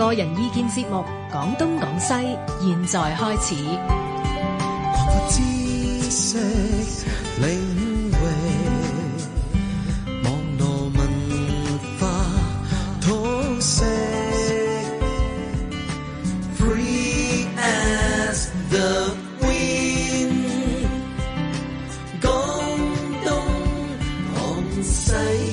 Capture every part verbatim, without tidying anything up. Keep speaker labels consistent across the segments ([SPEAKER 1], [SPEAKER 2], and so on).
[SPEAKER 1] 個人意見節目《講東講西》，現在開始。
[SPEAKER 2] 知識領域，網絡文化通識 ，Free as the wind， 講東講西。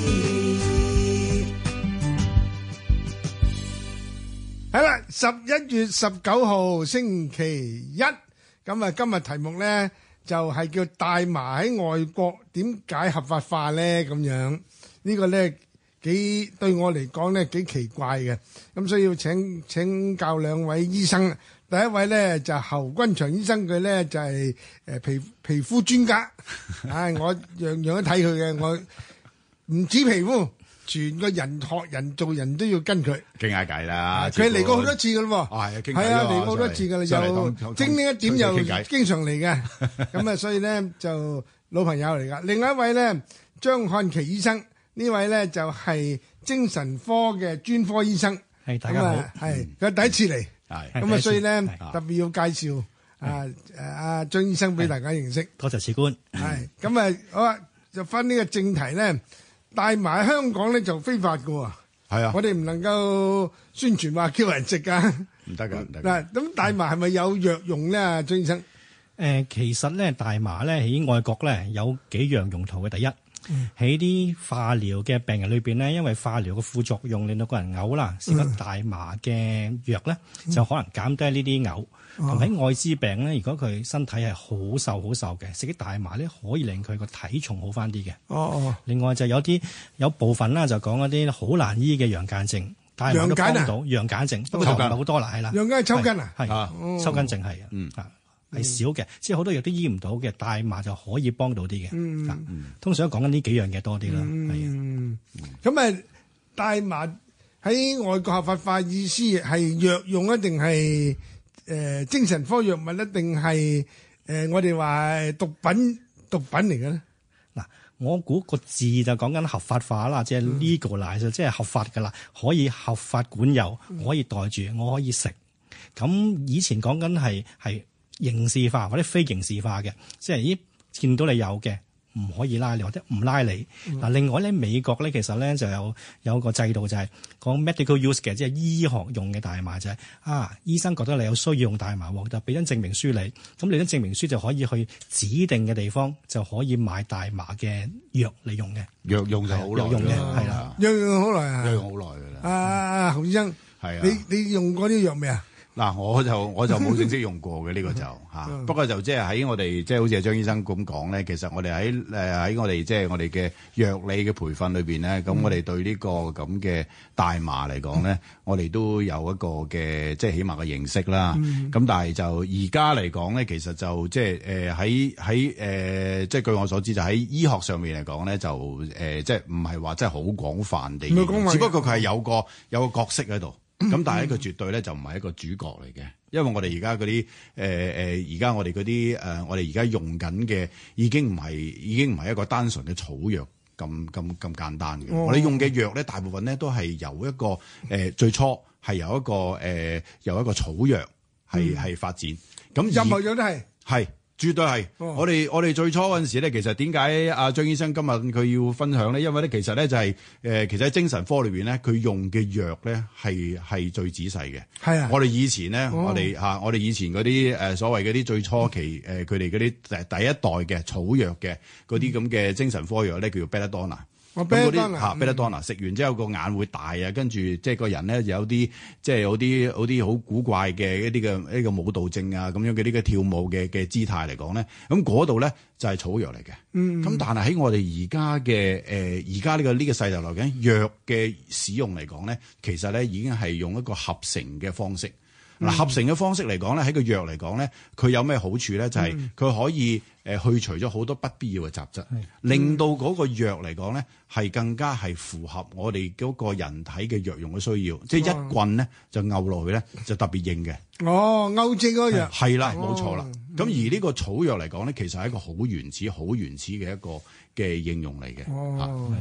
[SPEAKER 3] 係啦，十一月十九號星期一，咁啊，今日題目咧就係叫大麻喺外國點解合法化咧？咁樣呢個咧幾對我嚟講咧幾奇怪嘅，咁所以要請請教兩位醫生。第一位咧就侯君祥醫生，佢咧就係誒皮皮膚專家，唉，我樣樣都睇佢嘅，我唔止皮膚。全個人學人做人都要跟佢
[SPEAKER 4] 傾下偈啦。
[SPEAKER 3] 佢嚟過好多次噶咯喎，
[SPEAKER 4] 係啊，傾偈
[SPEAKER 3] 係啊，嚟過好多次噶啦，又精靈一點又經常嚟嘅。咁啊，所以咧就老朋友嚟噶。另外一位咧張漢琪醫生，呢位咧就係精神科嘅專科醫生。
[SPEAKER 5] 係大家好，
[SPEAKER 3] 係佢第一次嚟，
[SPEAKER 4] 係
[SPEAKER 3] 咁啊，所以咧特別要介紹啊誒阿張醫生俾大家認識。
[SPEAKER 5] 多謝賜官。
[SPEAKER 3] 係咁啊，好啊，就翻呢個正題咧。大麻喺香港咧就非法嘅喎，
[SPEAKER 4] 係啊，
[SPEAKER 3] 我哋唔能夠宣傳話叫人食㗎，
[SPEAKER 4] 唔得㗎，唔得。
[SPEAKER 3] 嗱，咁大麻係咪有藥用咧？啊，張醫生，
[SPEAKER 5] 誒，其實咧大麻咧喺外國咧有幾樣用途嘅。第一，喺啲化療嘅病人裏邊咧，因為化療嘅副作用令到個人嘔啦，食咗大麻嘅藥咧就可能減低呢啲嘔。同喺愛滋病咧，如果佢身體係好瘦好瘦嘅，食啲大麻咧可以令佢個體重好翻啲嘅。
[SPEAKER 3] 哦哦。
[SPEAKER 5] 另外就有啲有部分啦，就講一啲好難醫嘅陽間症，大麻都幫到陽間症，不過就唔係好多啦，係啦。
[SPEAKER 3] 陽間係抽筋啊？
[SPEAKER 5] 係抽筋症係啊，嗯啊係少嘅，即係好多藥都醫唔到嘅，大麻就可以幫到啲嘅。嗯嗯。通常講緊呢幾樣嘢多啲啦，係啊。
[SPEAKER 3] 嗯。咁啊，大麻喺外國合法化意思係藥用啊，定係？誒、呃、精神科藥物一定係誒我哋話毒品毒品嚟嘅咧？
[SPEAKER 5] 嗱，我估個字就講緊合法化啦，即係 legalize，嗯、即係合法㗎啦，可以合法管有，我可以袋住，我可以食。咁以前講緊係係刑事化或者非刑事化嘅，即係咦見到你有嘅。唔可以拉你或者唔拉你。嗱、嗯，另外咧，美國咧其實咧就有有個制度就係講 medical use 嘅，即係醫學用嘅大麻就係、是、啊，醫生覺得你有需要用大麻喎，就俾張證明書你，咁你張證明書就可以去指定嘅地方就可以買大麻嘅藥嚟用嘅。
[SPEAKER 4] 藥用就好耐，
[SPEAKER 5] 藥用嘅係啦，
[SPEAKER 3] 藥用好耐啊，
[SPEAKER 4] 藥用好耐㗎啦。
[SPEAKER 3] 啊啊，侯醫生，
[SPEAKER 4] 係啊，
[SPEAKER 3] 你你用過啲藥未啊？
[SPEAKER 4] 嗱，我就我就冇正式用過嘅呢個就嚇，不過就即係喺我哋即係好似阿張醫生咁講咧，其實我哋喺誒喺我哋即係我哋嘅藥理嘅培訓裏邊咧，咁我哋對呢個咁嘅大麻嚟講咧，我哋都有一個嘅即係起碼嘅認識啦。咁但係就而家嚟講咧，其實就即係誒喺喺誒即係據我所知，就喺醫學上面嚟講咧，就誒即係唔係話真係好廣泛地，只不過佢係有個有個角色喺度。咁但係呢個絕對咧就唔係一個主角嚟嘅，因為我哋而家嗰啲誒誒，而家我哋嗰啲誒，我哋而家用緊嘅已經唔係已經唔係一個單純嘅草藥咁咁咁簡單嘅。哦、我哋用嘅藥咧，大部分咧都係由一個誒、呃、最初係由一個誒、呃、由一個草藥係係、嗯、發展。咁
[SPEAKER 3] 任何藥都係
[SPEAKER 4] 係。絕對係、哦，我哋我哋最初嗰陣時咧，其實點解阿張醫生今日佢要分享咧？因為咧，其實咧就係、是、誒、呃，其實喺精神科裏邊咧，佢用嘅藥咧係係最仔細嘅。係啊，我哋以前咧、哦，我哋嚇、啊，我哋以前嗰啲誒所謂嗰啲最初期誒，佢哋嗰啲第第一代嘅草藥嘅嗰啲咁嘅精神科藥咧，叫做 Belladonna。咁嗰啲嚇 Belladonna 食完之後個眼會大啊，跟住即係個人咧有啲即係有啲有啲好古怪嘅一啲嘅呢個舞蹈症啊咁樣嘅呢個跳舞嘅嘅姿態嚟講咧，咁嗰度咧就係草藥嚟嘅。嗯，咁但係喺我哋而家嘅誒而家呢個呢個世代嚟講，藥嘅使用嚟講咧，其實咧已經係用一個合成嘅方式。嗱、嗯，合成嘅方式嚟講咧，喺個藥嚟講咧，佢有咩好處咧？就係、是、佢可以誒去除咗好多不必要嘅雜質，嗯、令到嗰個藥嚟講咧係更加係符合我哋嗰個人體嘅藥用嘅需要。即係一棍咧就勾落去咧就特別硬嘅。哦，勾正嗰藥係啦，冇錯啦。咁、哦、而呢個草藥嚟講咧，其實係一個好原始、好原始嘅一個嘅應用嚟嘅。哦，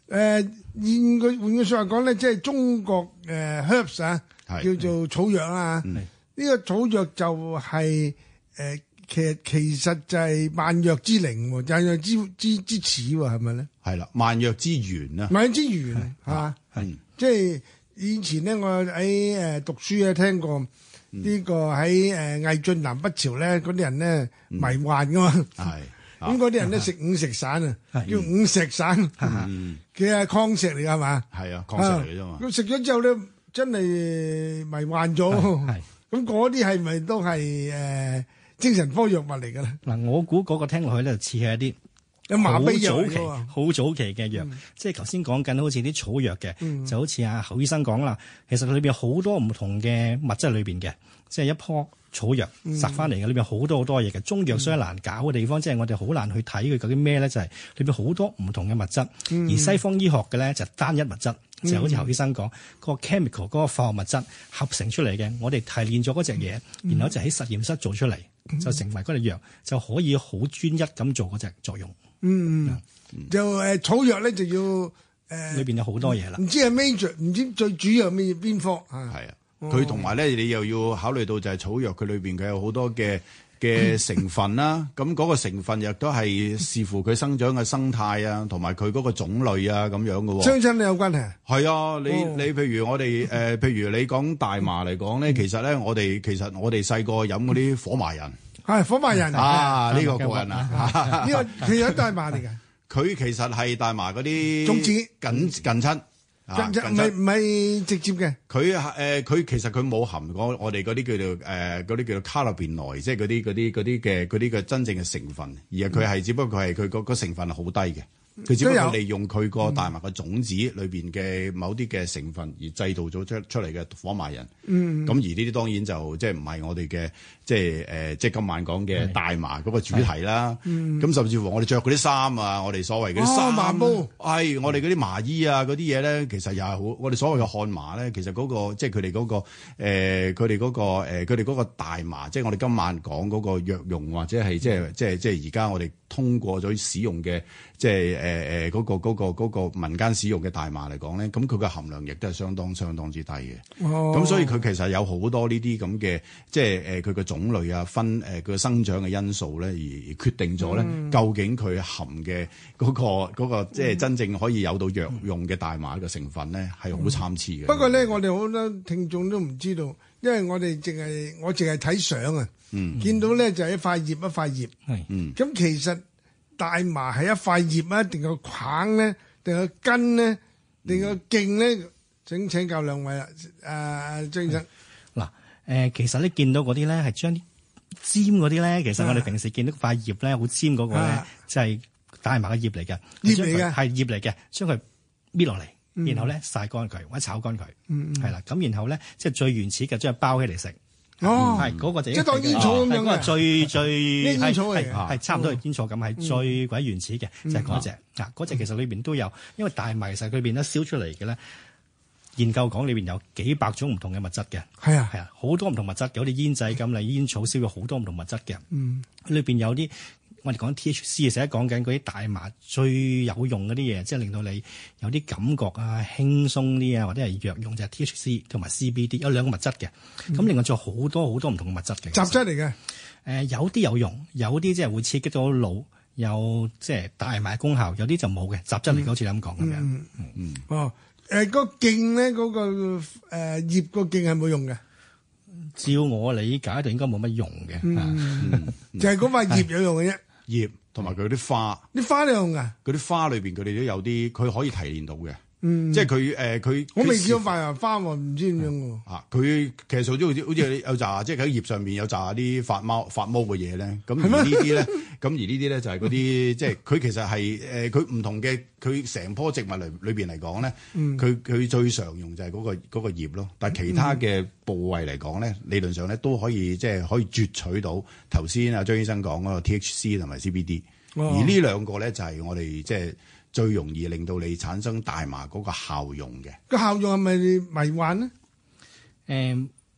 [SPEAKER 3] 誒現句換句説話講咧，即係中國誒 herbs 啊，叫做草藥啊。呢個草藥就係誒其實其實就係萬藥之靈，萬藥之之之始喎，係咪咧？
[SPEAKER 4] 係啦，萬藥之源啊！
[SPEAKER 3] 萬藥之源嚇，係即係以前咧，我喺誒讀書咧聽過呢個喺誒魏晉南北朝咧，嗰啲人咧迷幻噶嘛。係。咁嗰啲人咧食五石散啊，叫五石散，其實係礦石嚟㗎係嘛？係啊，礦石嚟嘅啫嘛。咁食咗之後咧，真係迷幻咗。咁嗰啲係咪都係誒精神科藥物嚟㗎咧？
[SPEAKER 5] 嗱，我估嗰個聽落去咧就似係一啲
[SPEAKER 3] 有麻痹藥
[SPEAKER 5] 好早期、好早期嘅藥，即係頭先講緊好似啲草藥嘅，就好似阿侯醫生講啦。其實裏邊好多唔同嘅物質裏邊嘅，即係一樖草藥摘翻嚟嘅，裏邊好多好多嘢嘅。中藥雖然難搞嘅地方，即係我哋好難去睇佢究竟咩咧，就係裏邊好多唔同嘅物質。而西方醫學嘅咧就單一物質，就好似侯醫生講嗰個 chemical 嗰個化學物質合成出嚟嘅。我哋提煉咗嗰隻嘢，然後就喺實驗室做出嚟，就成為嗰隻藥，就可以好專一咁做嗰隻作用。
[SPEAKER 3] 嗯，就誒草藥咧就要誒，
[SPEAKER 5] 裏邊有好多嘢啦。
[SPEAKER 3] 唔知係 major，唔知最主要係咩邊科啊？
[SPEAKER 4] 係啊。佢同埋咧，你又要考慮到就係草藥佢裏邊佢有好多嘅嘅成分啦。咁嗰個成分亦都係視乎佢生長嘅生態啊，同埋佢嗰個種類啊咁樣嘅喎。
[SPEAKER 3] 相親有關係。係
[SPEAKER 4] 啊，你你譬如我哋誒、呃，譬如你講大麻嚟講咧，其實咧我哋其實我哋細個飲嗰啲火麻仁
[SPEAKER 3] 係火麻仁
[SPEAKER 4] 啊，呢、呢個過癮啊！
[SPEAKER 3] 呢個其實大麻嚟嘅。
[SPEAKER 4] 佢其實係大麻嗰啲
[SPEAKER 3] 種子
[SPEAKER 4] 近近親。
[SPEAKER 3] 唔係唔係直接嘅，
[SPEAKER 4] 佢誒佢其實佢冇含我我哋嗰啲叫做誒嗰啲叫做卡樂便來，即係嗰啲嗰啲嗰啲嘅嗰啲嘅真正嘅成分，而係佢係只不過佢係佢個個成分係好低嘅，佢只不過利用佢個大麻嘅種子裏邊嘅某啲嘅成分而製造咗出出嚟嘅火麻仁。嗯，咁而呢啲當然就即係唔係我哋嘅即係誒即係今晚講嘅大麻嗰個主題啦。嗯，咁甚至乎我哋着嗰啲衫啊，我哋所謂嗰啲衫
[SPEAKER 3] 麻布，
[SPEAKER 4] 係我哋嗰啲麻衣啊嗰啲嘢咧，其實又係好我哋所謂嘅漢麻咧，其實嗰個即係佢哋嗰個誒佢哋嗰個誒佢哋嗰個大麻，即係我哋今晚講嗰個藥用或者係即係即係即係而家我哋通過咗使用嘅即係誒誒嗰個嗰個嗰個民間使用嘅大麻嚟講咧，咁佢嘅含量亦都係相當相當之低嘅。哦，咁所以佢其實有好多呢啲咁嘅即係誒佢嘅種類啊分誒佢嘅生長嘅因素咧，而決定咗咧、嗯、究竟佢含嘅嗰個嗰個即係真正可以有到藥用嘅大麻嘅成分咧，係好參差嘅。
[SPEAKER 3] 不過咧，我哋好多聽眾都唔知道，因為我哋淨係我淨係睇相啊，嗯、見到咧就係一塊葉一塊葉。係，嗯，咁其實大麻係一塊葉啊，定個梗咧，定個根咧，定個莖咧？請請教兩位啦，誒張醫生。
[SPEAKER 5] 嗱，誒其實你見到嗰啲咧係將啲尖嗰啲咧，其實我哋平時見到塊葉咧好尖嗰個咧，就係大麻嘅葉嚟嘅，
[SPEAKER 3] 葉嚟嘅
[SPEAKER 5] 係葉嚟嘅，將佢搣落嚟，然後咧曬乾佢或者炒乾佢，係啦，咁然後咧即係最原始嘅將佢包起嚟食。
[SPEAKER 3] 哦，
[SPEAKER 5] 係嗰個就
[SPEAKER 3] 即係當煙草咁樣嘅，
[SPEAKER 5] 嗰個最最
[SPEAKER 3] 煙草嚟嘅，
[SPEAKER 5] 係差唔多係煙草咁，係最鬼原始嘅，就係嗰隻啊，嗰隻其實裏邊都有，因為大麻其實裏邊咧燒出嚟嘅咧。研究講裏邊有幾百種唔同嘅物質嘅，
[SPEAKER 3] 係啊
[SPEAKER 5] 係啊，好多唔同物質，有啲煙仔咁嚟，煙草燒咗好多唔同物質嘅。嗯，裏邊有啲我哋講 T H C 成日講緊嗰啲大麻最有用嗰啲嘢，即係令到你有啲感覺啊，輕鬆啲啊，或者係藥用就係 T H C 同埋 C B D 有兩個物質嘅。咁、嗯、另外仲有好多好多唔同嘅物質嘅
[SPEAKER 3] 雜質嚟嘅。誒、
[SPEAKER 5] 呃、有啲有用，有啲即係會刺激到腦，有即係大麻功效，有啲就冇嘅雜質嚟嘅，好似你咁講咁樣。嗯嗯
[SPEAKER 3] 嗯哦。誒、呃，嗰個莖咧，嗰、那個誒、呃、葉個莖係冇用嘅。
[SPEAKER 5] 照我理解，就應該冇乜用嘅。
[SPEAKER 3] 嗯嗯、就係嗰塊葉有用嘅啫。
[SPEAKER 4] 葉同埋佢啲花，
[SPEAKER 3] 啲花都有用噶。
[SPEAKER 4] 嗰啲花裏邊佢哋都有啲，佢可以提煉到嘅。
[SPEAKER 3] 嗯，
[SPEAKER 4] 即係佢誒佢，
[SPEAKER 3] 我未見過塊芽花喎，唔知點樣喎。
[SPEAKER 4] 啊，佢其實好似好似好似有紮，即係喺葉上面有紮啲發毛發毛嘅嘢咧。咁而呢啲咧，咁而呢啲咧就係嗰啲，即係佢其實係誒佢唔同嘅，佢成棵植物嚟裏邊嚟講咧，佢佢最常用就係嗰個嗰個葉咯。但係其他嘅部位嚟講咧，理論上咧都可以即係可以攫取到頭先阿張醫生講嗰個 T H C 同埋 C B D。而呢兩個咧就係我哋即係。最容易令到你產生大麻嗰個效用嘅，
[SPEAKER 3] 個效用係咪迷幻咧？
[SPEAKER 5] 誒、嗯，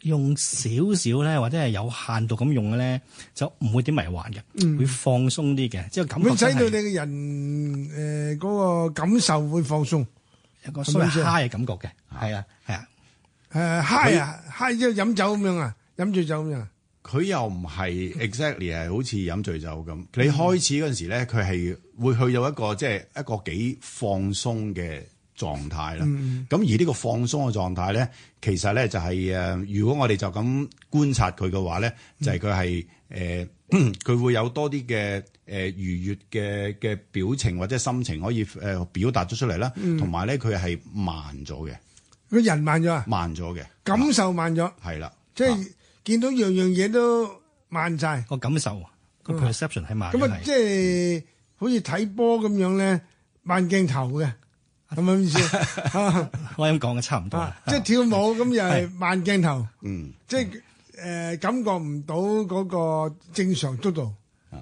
[SPEAKER 5] 用少少咧，或者係有限度咁用嘅咧，就唔會點迷幻嘅，
[SPEAKER 3] 嗯
[SPEAKER 5] 會放鬆啲嘅，即係感覺
[SPEAKER 3] 會使
[SPEAKER 5] 真係
[SPEAKER 3] 到你嘅人誒嗰個感受會放鬆，
[SPEAKER 5] 有個所謂
[SPEAKER 3] 係咪先
[SPEAKER 5] high 嘅感覺嘅，係啊係啊，
[SPEAKER 3] 誒 high 啊 high 即係飲酒咁樣啊，飲醉酒咁樣。
[SPEAKER 4] 佢又唔係 exactly 係好似飲醉酒咁。你開始嗰陣時咧，佢係會去到一個即係一個幾放鬆嘅狀態啦。咁、
[SPEAKER 3] 嗯、
[SPEAKER 4] 而呢個放鬆嘅狀態咧，其實咧就係誒，如果我哋就咁觀察佢嘅話咧，就係佢係誒，佢會有多啲嘅誒愉悅嘅嘅表情或者心情可以誒表達咗出嚟啦。同埋咧，佢係慢咗嘅，
[SPEAKER 3] 個人慢咗啊，
[SPEAKER 4] 慢咗嘅
[SPEAKER 3] 感受慢咗，
[SPEAKER 4] 係啦，
[SPEAKER 3] 即係見到樣樣嘢都慢晒。
[SPEAKER 5] 個感受個 perception 係慢嘅
[SPEAKER 3] 咁啊，即
[SPEAKER 5] 係。
[SPEAKER 3] 係好似睇波咁樣咧，慢鏡頭嘅，係咪咁意思？啊
[SPEAKER 5] 我咁講嘅差唔多啦
[SPEAKER 3] 啊，即係跳舞咁又係慢鏡頭，
[SPEAKER 4] 嗯。
[SPEAKER 3] 即係誒感覺唔到嗰個正常速度。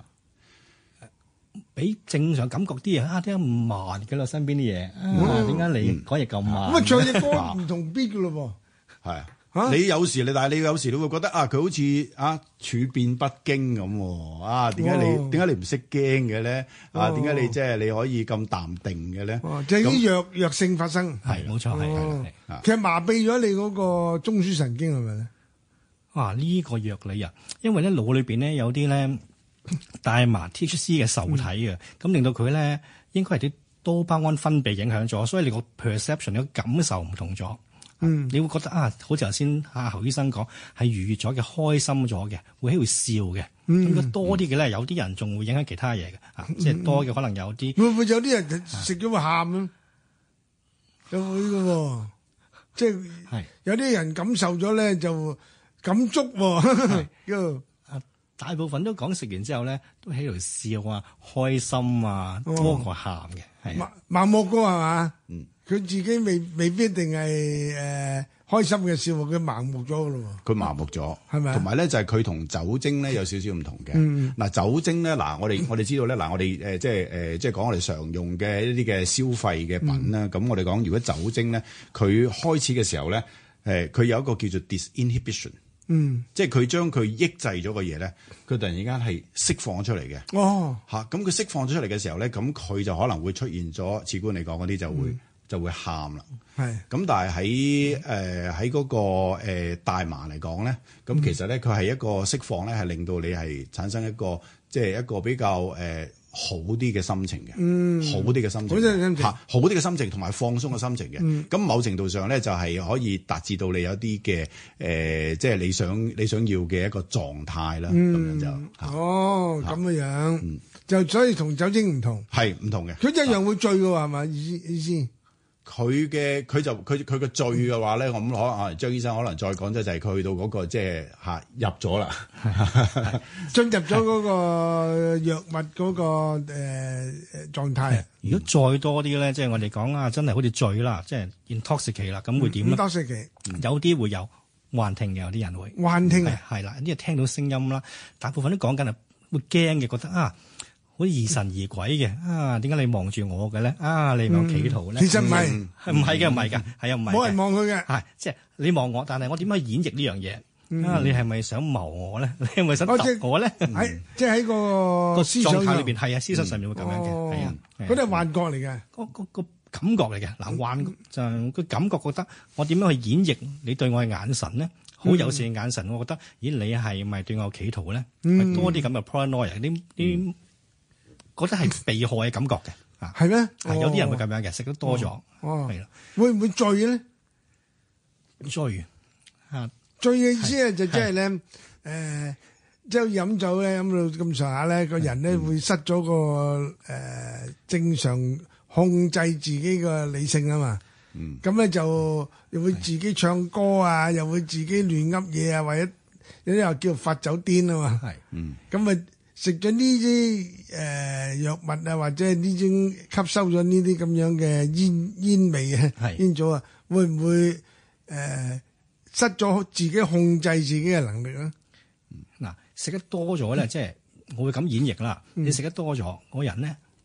[SPEAKER 5] 比正常感覺啲嘢啊，點解咁慢嘅啦？身邊啲嘢啊，點解你講嘢咁慢？
[SPEAKER 3] 咁啊，唱隻歌唔同 beat 噶咯
[SPEAKER 4] 係啊，
[SPEAKER 3] 嚇
[SPEAKER 4] 你有時你，但係你有時你會覺得啊，佢好似啊處變不驚咁喎。啊，點解
[SPEAKER 3] 哦
[SPEAKER 4] 你點解你唔識驚嘅咧？啊，
[SPEAKER 3] 哦
[SPEAKER 4] 點解你即係你可以咁淡定嘅咧？
[SPEAKER 3] 喎。哦，就係啲弱弱性發生。
[SPEAKER 5] 係冇錯，係係
[SPEAKER 3] 哦
[SPEAKER 5] 係。
[SPEAKER 3] 其實麻痹咗你嗰個中樞神經係咪咧？
[SPEAKER 5] 哇！呢個藥理啊，因為咧腦裏邊咧有啲咧大麻 T H C 嘅受體嘅，咁令到佢咧應該係啲多巴胺分泌影響咗，所以你個 perception 個感受唔同咗。
[SPEAKER 3] 嗯，
[SPEAKER 5] 你會覺得啊，好似頭先阿侯醫生講係愉悅咗嘅、開心咗嘅，會喺度笑嘅。咁如果多啲嘅咧，有啲人仲會影響其他嘢嘅，啊，即係多嘅可能有啲
[SPEAKER 3] 會唔會有啲人食咗會喊咧？有會嘅喎，即係
[SPEAKER 5] 係
[SPEAKER 3] 有啲人感受咗咧就感觸喎。叫
[SPEAKER 5] 大部分都講食完之後咧都喺度笑啊、開心啊，
[SPEAKER 3] 哦
[SPEAKER 5] 多過喊嘅，係
[SPEAKER 3] 盲盲目嘅係嘛？
[SPEAKER 4] 嗯，
[SPEAKER 3] 佢自己未未必一定係誒開心嘅笑，佢盲目咗嘅咯喎。
[SPEAKER 4] 佢麻木咗，
[SPEAKER 3] 係咪啊
[SPEAKER 4] 同埋咧就係佢同酒精咧有少少唔同嘅。
[SPEAKER 3] 嗯
[SPEAKER 4] 嗱，酒精咧嗱，我哋我哋知道咧嗱，我哋誒即係誒即係講我哋常用嘅一啲嘅消費嘅品啦。咁、我哋講如果酒精咧，佢開始嘅時候咧，誒佢有一個叫做 disinhibition。
[SPEAKER 3] 嗯，
[SPEAKER 4] 即係佢將佢抑制咗個嘢咧，佢突然之間係釋放咗出嚟嘅
[SPEAKER 3] 哦，
[SPEAKER 4] 嚇。咁佢釋放咗出嚟嘅時候咧，咁佢就可能會出現咗，似官嚟講嗰啲就會、
[SPEAKER 3] 嗯、
[SPEAKER 4] 就會喊啦。
[SPEAKER 3] 係
[SPEAKER 4] 咁但係喺誒喺嗰個、呃、大麻嚟講咧，咁其實咧佢係一個釋放咧，係令到你係產生一個即係一個比較誒、呃、好啲嘅心情嘅，
[SPEAKER 3] 嗯
[SPEAKER 4] 好啲嘅心情，
[SPEAKER 3] 好啲嘅心情
[SPEAKER 4] 嚇好啲嘅心情同埋放鬆嘅心情嘅。咁、
[SPEAKER 3] 嗯、
[SPEAKER 4] 某程度上咧，就係可以達至到你有啲嘅誒，即係你想你想要嘅一個狀態啦。咁、
[SPEAKER 3] 嗯
[SPEAKER 4] 樣就嚇
[SPEAKER 3] 哦咁嘅樣，
[SPEAKER 4] 嗯
[SPEAKER 3] 就所以同酒精唔同，
[SPEAKER 4] 係唔同嘅。
[SPEAKER 3] 佢一樣會醉嘅喎係嘛？意思意思
[SPEAKER 4] 佢嘅佢就佢佢個醉嘅話咧，我諗可能啊張醫生可能再講即就係佢去到嗰、個即係嚇入咗啦，
[SPEAKER 3] 進入咗嗰個藥物嗰、個誒誒狀態。
[SPEAKER 5] 如果再多啲咧，即係我哋講啊，真係好似醉啦，即係 intoxicate 啦，咁會點咧？
[SPEAKER 3] 多食期
[SPEAKER 5] 有啲會有幻聽嘅，有啲人會
[SPEAKER 3] 幻聽啊，
[SPEAKER 5] 係係啦，啲人聽到聲音啦，大部分都講緊係會驚嘅，覺得啊，好似疑神疑鬼嘅啊，點解你望住我嘅咧？啊，你有企圖咧？
[SPEAKER 3] 其實唔係，
[SPEAKER 4] 嗯
[SPEAKER 5] 係唔係嘅？唔係㗎，係啊，唔係嘅。
[SPEAKER 3] 冇人望佢嘅。
[SPEAKER 5] 係即係你望我，但係我點樣去演繹呢樣嘢？啊，你係咪想謀我咧？你係咪想
[SPEAKER 3] 哦即
[SPEAKER 5] 揼我咧？
[SPEAKER 3] 喺即係喺個
[SPEAKER 5] 個
[SPEAKER 3] 思想上
[SPEAKER 5] 狀態裏邊係啊，思想上面會咁樣嘅，
[SPEAKER 3] 哦
[SPEAKER 5] 係啊，係啊
[SPEAKER 3] 嗰啲係幻覺嚟嘅。
[SPEAKER 5] 個個個感覺嚟嘅。嗱，幻就個感覺覺得我點樣去演繹你對我嘅眼神咧？好友善嘅眼神，我覺得，咦，你係咪對我有企圖咧？
[SPEAKER 3] 嗯
[SPEAKER 5] 多啲咁嘅 paranoia，啲啲覺得係被害嘅感覺嘅啊，
[SPEAKER 3] 係咩？
[SPEAKER 5] 係有啲人會咁樣嘅，食得多咗，
[SPEAKER 3] 哦，
[SPEAKER 5] 係啦，
[SPEAKER 3] 會唔會醉咧？
[SPEAKER 5] 醉啊，
[SPEAKER 3] 醉嘅意思咧就即係咧，誒，即係飲酒咧飲到咁上下咧，個人咧會失咗個誒正常控制自己嘅理性啊嘛。
[SPEAKER 4] 嗯，
[SPEAKER 3] 咁咧就又會自己唱歌啊，又會自己亂噏嘢啊，或者有啲又叫發酒癲啊嘛。
[SPEAKER 5] 係
[SPEAKER 4] 嗯，
[SPEAKER 3] 咁啊食咗呢啲誒藥物啊，或者係呢種吸收咗呢啲咁樣嘅煙煙味啊
[SPEAKER 5] 係
[SPEAKER 3] 煙草啊，會唔會誒、呃、失咗自己控制自己嘅能力咧？
[SPEAKER 5] 嗱，食得多咗咧，即係我會咁演繹啦。你食得多咗，個人咧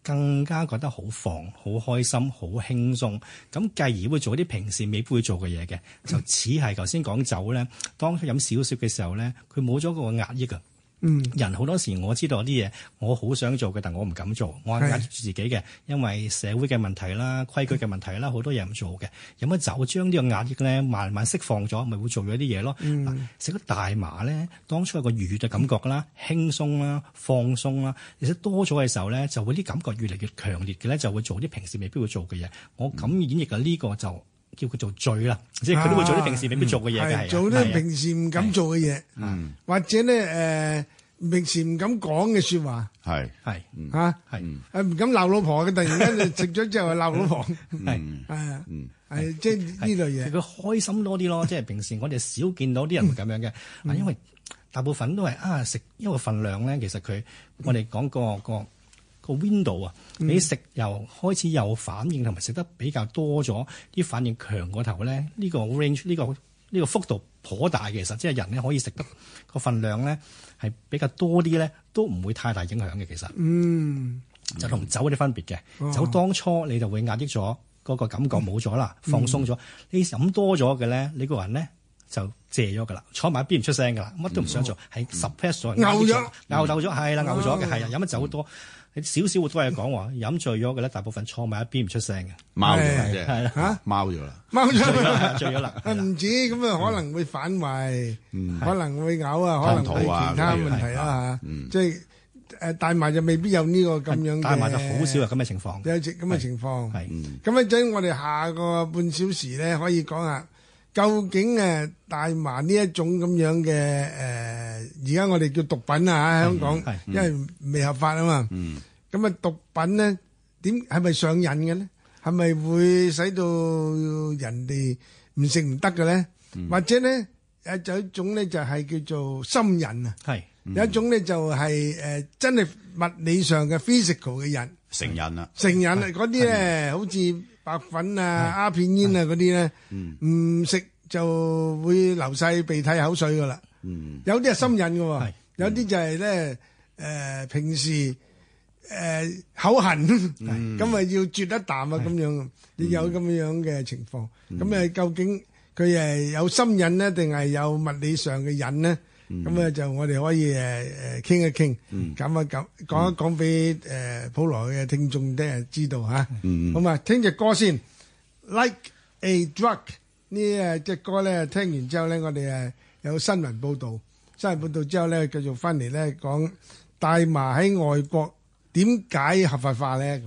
[SPEAKER 5] 更加覺得好放、好開心、好輕鬆，咁繼而會做啲平時未必會做嘅嘢嘅，就似係頭先講酒咧，當佢飲少少嘅時候咧，佢冇咗嗰個壓抑啊。嗯，人好多時我知道有啲嘢我好想做嘅，但我唔敢做，我係壓住自己嘅，因為社會嘅問題啦、規矩嘅問題啦，好多嘢唔做嘅。飲咗酒將呢個壓抑咧慢慢釋放咗，咪會做咗啲嘢咯。嗯，食咗大麻咧，當初有個愉悅嘅感覺啦、輕鬆啦、放鬆啦，而且多咗嘅時候咧，就會啲感覺越嚟越強烈嘅咧，就會做啲平時未必會做嘅嘢。我咁演繹嘅呢個就叫佢做醉啦，即係佢都會做啲平時未必做嘅嘢嘅，係
[SPEAKER 3] 做啲平時唔敢做嘅嘢，嗯，或者咧誒平時唔敢講嘅説話，
[SPEAKER 4] 係
[SPEAKER 5] 係
[SPEAKER 3] 嚇係誒唔敢鬧老婆嘅，突然間就食咗之後鬧老婆，係係啊，係即係呢類嘢，
[SPEAKER 5] 佢開心多啲咯。即係平時我哋少見到啲人會咁樣嘅，啊，因為大部分都係啊食一個份量咧，其實佢我哋講個個。個 window 啊，你食又開始有反應，同埋食得比較多咗，啲反應強過頭咧，呢個 range 呢個呢個幅度頗大，其實即係人咧可以食得個份量咧係比較多啲咧，都唔會太大影響嘅。其實，嗯，就同酒有啲分別嘅。哦、酒當初你就會壓抑咗嗰個感覺冇咗啦，嗯、放鬆咗。你飲多咗嘅咧，你個人咧就謝咗㗎啦，坐埋一邊唔出聲㗎啦，乜都唔想做，係 suppress 咗，
[SPEAKER 3] 拗咗，
[SPEAKER 5] 拗鬥咗，係啦，拗咗嘅，係啊，飲咗酒多。少少會多嘢講喎，飲醉咗嘅咧，大部分坐埋一邊唔出聲嘅，
[SPEAKER 4] 貓咗啫，係啦
[SPEAKER 3] 嚇，
[SPEAKER 4] 貓咗啦，
[SPEAKER 3] 貓咗，
[SPEAKER 5] 醉咗啦，
[SPEAKER 3] 唔止咁啊，可能會反胃，可能會嘔啊，可能會其他問題啦嚇，即係誒大麻就未必有呢個咁樣嘅，
[SPEAKER 5] 大麻就好少有咁嘅情況，
[SPEAKER 3] 有咁嘅情況，係咁一陣我哋下個半小時咧可以講下究竟誒大麻呢一種咁樣嘅誒，而家我哋叫毒品啊，喺香港，因為未合法啊嘛。咁啊，毒品咧點係咪上癮嘅咧？係咪會使到人哋唔食唔得嘅咧？或者咧誒，就一種咧就係叫做心癮啊。係有一種咧就係誒真係物理上嘅 physical 嘅癮，
[SPEAKER 4] 成癮啦。成
[SPEAKER 3] 癮啊！嗰啲咧好似白粉啊、鴉片煙啊嗰啲咧，唔食就會流晒鼻涕口水噶啦。有啲係心癮嘅，有啲就係咧誒平時。誒、呃、口痕，咁啊、嗯、要啜一啖啊咁樣，亦有咁樣嘅情況。咁啊、嗯，究竟佢係有心癮呢，定係有物理上嘅癮呢？咁啊、嗯，就我哋可以誒誒傾一傾，咁啊講講一講俾誒普羅嘅聽眾咧知道嚇。嗯、好嘛，聽隻歌先 ，Like a Drug 呢誒隻歌咧，聽完之後咧，我哋誒有新聞報導，新聞報導之後咧，繼續翻嚟咧講大麻喺外國。點解合法化咧？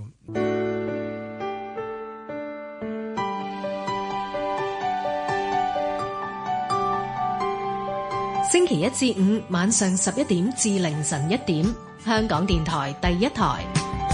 [SPEAKER 1] 星期一至五晚上十一點至凌晨一點，香港電台第一台。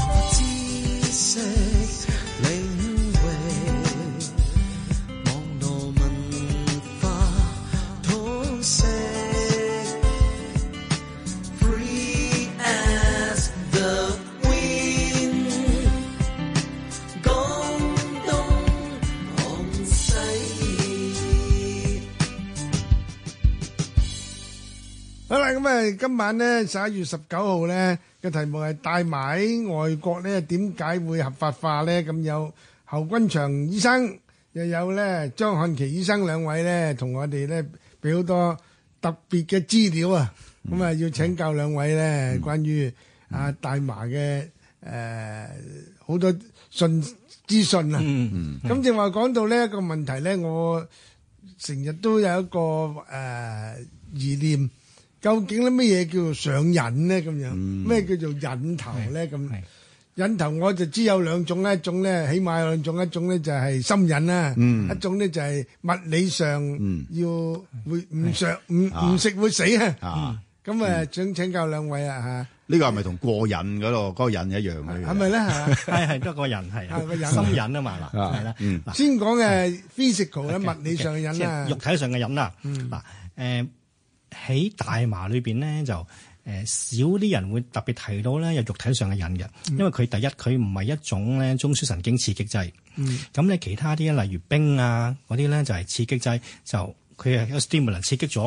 [SPEAKER 3] 咁啊，今晚咧十一月十九號咧嘅題目係大麻喺外國咧點解會合法化咧？咁有侯君祥醫生，又有咧張漢琪醫生兩位咧，同我哋咧俾好多特別嘅資料啊！咁啊，要請教兩位咧，關於啊大麻嘅誒好多訊資訊啊！咁正話講到呢一個問題咧，我成日都有一個誒疑念。究竟咧乜嘢叫做上癮咧？咁樣咩叫做癮頭咧？咁癮頭我就知有兩種咧，一種咧起碼有兩種，一種咧就係心癮啦，一種咧就係物理上要會唔上唔唔食會死啊！咁啊，想請教兩位啊嚇，
[SPEAKER 4] 呢個係咪同過癮嗰度嗰個癮一樣嘅？
[SPEAKER 3] 係咪咧？
[SPEAKER 5] 係係都係個癮係啊，心癮啊嘛嗱，係啦。
[SPEAKER 3] 先講嘅 physical 咧，物理上嘅癮啊，
[SPEAKER 5] 肉體上嘅癮啦。嗱誒。喺大麻裏邊咧就誒、呃、少啲人會特別提到咧有肉體上嘅癮嘅，因為佢第一佢唔係一種咧中樞神經刺激劑，咁咧、嗯、其他啲例如冰啊嗰啲咧就係刺激劑，就佢係有 stimulant 刺激咗嘅，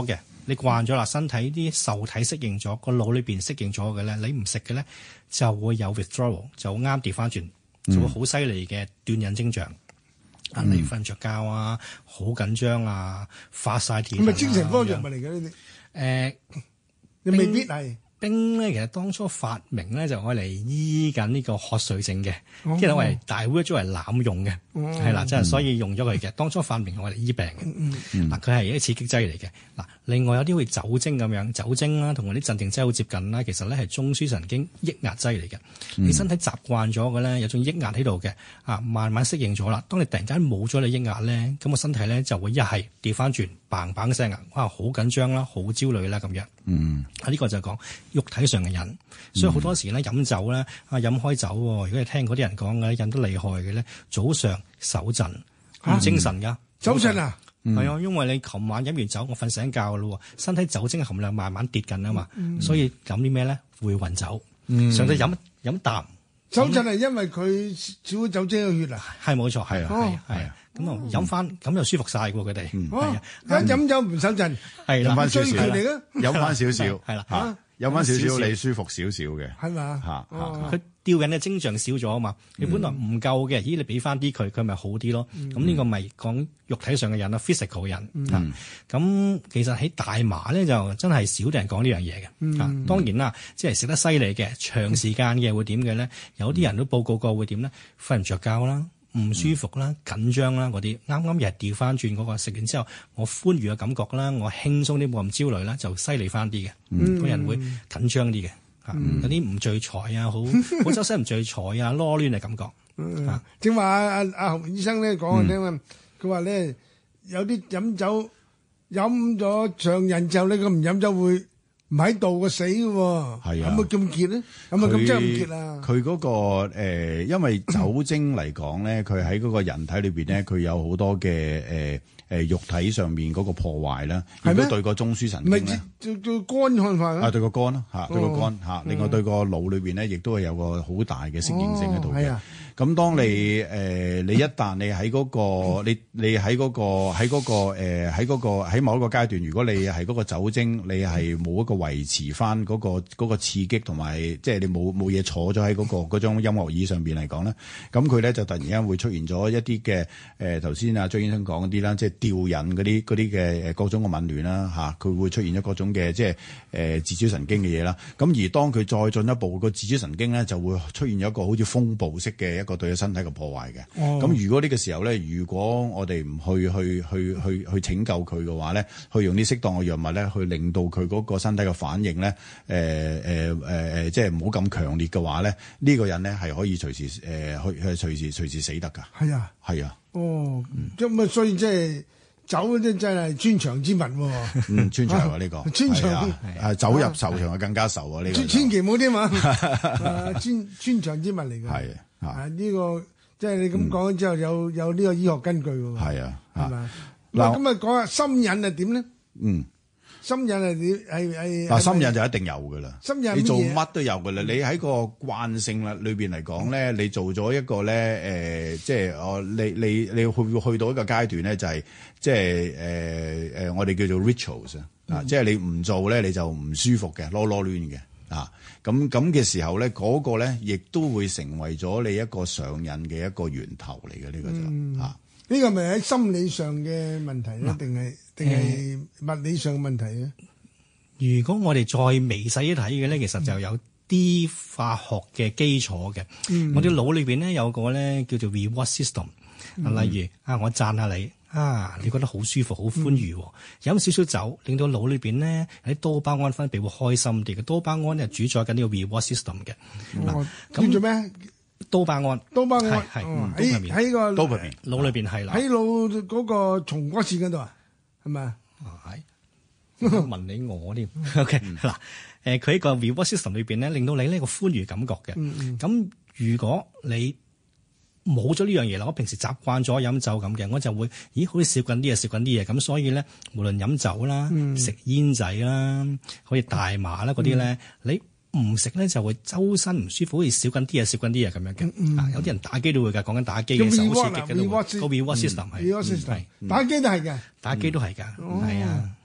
[SPEAKER 5] 你慣咗啦，身體啲受體適應咗，個腦裏邊適應咗嘅咧，你唔食嘅咧就會有 withdrawal， 就啱調翻轉，就會好犀利嘅斷癮徵象。啊！你瞓唔着覺啊，好緊張啊，發晒癲。
[SPEAKER 3] 咁咪精神科藥物嚟嘅呢啲？
[SPEAKER 5] 誒，
[SPEAKER 3] 你未必係。
[SPEAKER 5] 冰咧，其實當初發明咧就愛嚟醫緊呢個瞌睡症嘅，
[SPEAKER 3] 哦
[SPEAKER 5] 即係我係大會咗嚟濫用嘅，係啦、
[SPEAKER 3] 哦，
[SPEAKER 5] 即係所以用咗佢嘅。當初發明係愛嚟醫病嘅，嗱佢係一個刺激劑嚟嘅。嗱，另外有啲會酒精咁樣，酒精啦同嗰啲鎮定劑好接近啦，其實咧係中樞神經抑壓劑嚟嘅。嗯、你身體習慣咗嘅咧，有種抑壓喺度嘅，啊慢慢適應咗啦。當你突然間冇咗你抑壓咧，咁個身體咧就會一係調翻轉，嘭嘭聲啊，哇好緊張啦，好焦慮啦咁樣。嗯，啊呢個就係講肉體上嘅癮，所以好多時咧飲酒咧啊飲開酒，如果你聽嗰啲人講嘅飲得厲害嘅咧，早上手震唔精神噶，
[SPEAKER 3] 手震啊，
[SPEAKER 5] 係啊，因為你琴晚飲完酒，我瞓醒覺咯，身體酒精含量慢慢跌緊啊嘛，所以飲啲咩咧會暈酒，上到飲飲啖。
[SPEAKER 3] 手震係因為佢少咗酒精嘅血啊，
[SPEAKER 5] 係冇錯，係啊係啊係啊，咁啊飲翻咁就舒服晒喎佢哋，係啊，
[SPEAKER 3] 一飲酒唔手震，
[SPEAKER 5] 係啦，
[SPEAKER 4] 飲翻少少，
[SPEAKER 3] 嚟嘅，
[SPEAKER 4] 飲翻少少，
[SPEAKER 5] 係啦
[SPEAKER 4] 嚇，飲翻少少你舒服少少嘅，
[SPEAKER 3] 係嘛
[SPEAKER 4] 嚇嚇。
[SPEAKER 5] 佢吊緊嘅徵象少咗啊嘛，你本來唔夠嘅，咦你俾翻啲佢，佢咪好啲咯。咁呢個咪講肉體上嘅癮啦 ，physical 嘅癮。咁其實喺大麻咧就真係少啲人講呢樣嘢嘅。啊，當然啦，即係食得犀利嘅，長時間嘅會點嘅咧？有啲人都報告過會點咧？瞓唔着覺啦，唔舒服啦，緊張啦嗰啲。啱啱又係調翻轉嗰個食完之後，我歡愉嘅感覺啦，我輕鬆啲冇咁焦慮啦，就犀利翻啲嘅。個人會緊張啲嘅。有啲唔聚財啊，好好周身唔聚財啊，囉攣嘅感覺。
[SPEAKER 3] 嗯，正話阿阿阿洪醫生咧講我聽啊，佢話咧有啲飲酒飲咗上癮之後咧，佢唔飲酒會唔喺度個死嘅喎。係啊，有冇咁結咧？有冇咁真係咁結啊？
[SPEAKER 4] 佢嗰個誒，因為酒精嚟講咧，佢喺嗰個人體裏邊咧，佢有好多嘅誒。誒肉體上面嗰個破壞啦，亦都對個中樞神經咧，
[SPEAKER 3] 對對肝看法
[SPEAKER 4] 啊，對個肝啦嚇，對個肝嚇，另外對個腦裏邊咧，亦都係有個好大嘅適應性喺度嘅。咁當你誒你一旦你喺嗰個你你喺嗰個喺嗰個誒喺嗰個喺某一個階段，如果你係嗰個酒精，你係冇一個維持翻嗰個嗰個刺激同埋，即係你冇冇嘢坐咗喺嗰個嗰張音樂椅上邊嚟講咧，咁佢咧就突然間會出現咗一啲嘅誒頭先阿張醫生講嗰啲啦，即係吊癮嗰啲嗰啲嘅誒各種嘅紊亂啦嚇，佢會出現咗各種嘅即係誒自主神經嘅嘢啦。咁而當佢再進一步，個自主神經咧就會出現咗一個好似風暴式嘅一個對身體嘅破壞嘅。咁、哦、如果呢個時候咧，如果我哋唔去去去去去拯救佢嘅話咧，去用啲適當嘅藥物咧，去令到佢嗰個身體嘅反應咧，誒誒誒誒，即係唔好咁強烈嘅話咧，呢、這個人咧係可以隨時誒去、呃、隨時隨時死得㗎。
[SPEAKER 3] 係啊，
[SPEAKER 4] 係啊。
[SPEAKER 3] 哦，咁啊、嗯，所以即係酒咧，真係穿腸之物喎。
[SPEAKER 4] 嗯，穿腸啊呢個。穿腸係酒入愁腸啊，更加愁啊呢個。
[SPEAKER 3] 千祈唔好添嘛，穿穿腸之物嚟㗎。係
[SPEAKER 4] 啊，
[SPEAKER 3] 呢個即係你咁講之後，有有呢個醫學根據喎。係啊，係嘛？嗱，咁啊講下心癮係點咧？嗯。心癮係點？係係
[SPEAKER 4] 嗱，心癮就一定有噶啦。
[SPEAKER 3] 心癮
[SPEAKER 4] 你做乜都有噶啦。你喺個慣性啦裏邊嚟講咧，你做咗一個咧誒，即係哦，你你你會去到一個階段咧，就係即係誒誒，我哋叫做 rituals 啊，即係你唔做咧，你就唔舒服嘅，囉囉攣嘅啊。咁咁嘅時候咧，嗰個咧亦都會成為咗你一個上癮嘅一個源頭嚟嘅，呢個就啊。
[SPEAKER 3] 呢個咪喺心理上嘅問題咧，定係定係物理上嘅問題咧？
[SPEAKER 5] 如果我哋再微細啲睇嘅咧，其實就有啲化學嘅基礎嘅。嗯、我哋腦裏邊咧有個咧叫做 reward system，嗯、例如啊，我讚下你啊，你覺得好舒服、好歡愉，飲少少酒，令到腦裏邊咧喺多巴胺分泌會開心啲嘅。多巴胺咧主宰緊呢個 reward system 嘅。嗱，
[SPEAKER 3] 咁做咩？
[SPEAKER 5] 多巴胺，
[SPEAKER 3] 多巴胺
[SPEAKER 5] 係
[SPEAKER 3] 喺喺個
[SPEAKER 4] 腦入邊，
[SPEAKER 5] 腦裏邊係啦，
[SPEAKER 3] 喺腦嗰個松果腺嗰度啊，係咪啊？
[SPEAKER 5] 係問你我添，OK 嗱，誒佢喺個 reward system 裏邊咧，令到你呢個歡愉感覺嘅。咁如果你冇咗呢樣嘢啦，我平時習慣咗飲酒咁嘅，我就會咦好似少緊啲嘢，少緊啲嘢咁，所以咧無論飲酒啦、食煙仔啦、好似大麻啦嗰啲咧，你唔食咧就會周身唔舒服，好似少緊啲嘢，少緊啲嘢咁樣嘅。嗯、啊，有啲人打機都會㗎，講緊打機嘅時候好刺激嘅，個 reward system 係，係、
[SPEAKER 3] 嗯、打機都係嘅，
[SPEAKER 5] 打機都係㗎，係、嗯、啊。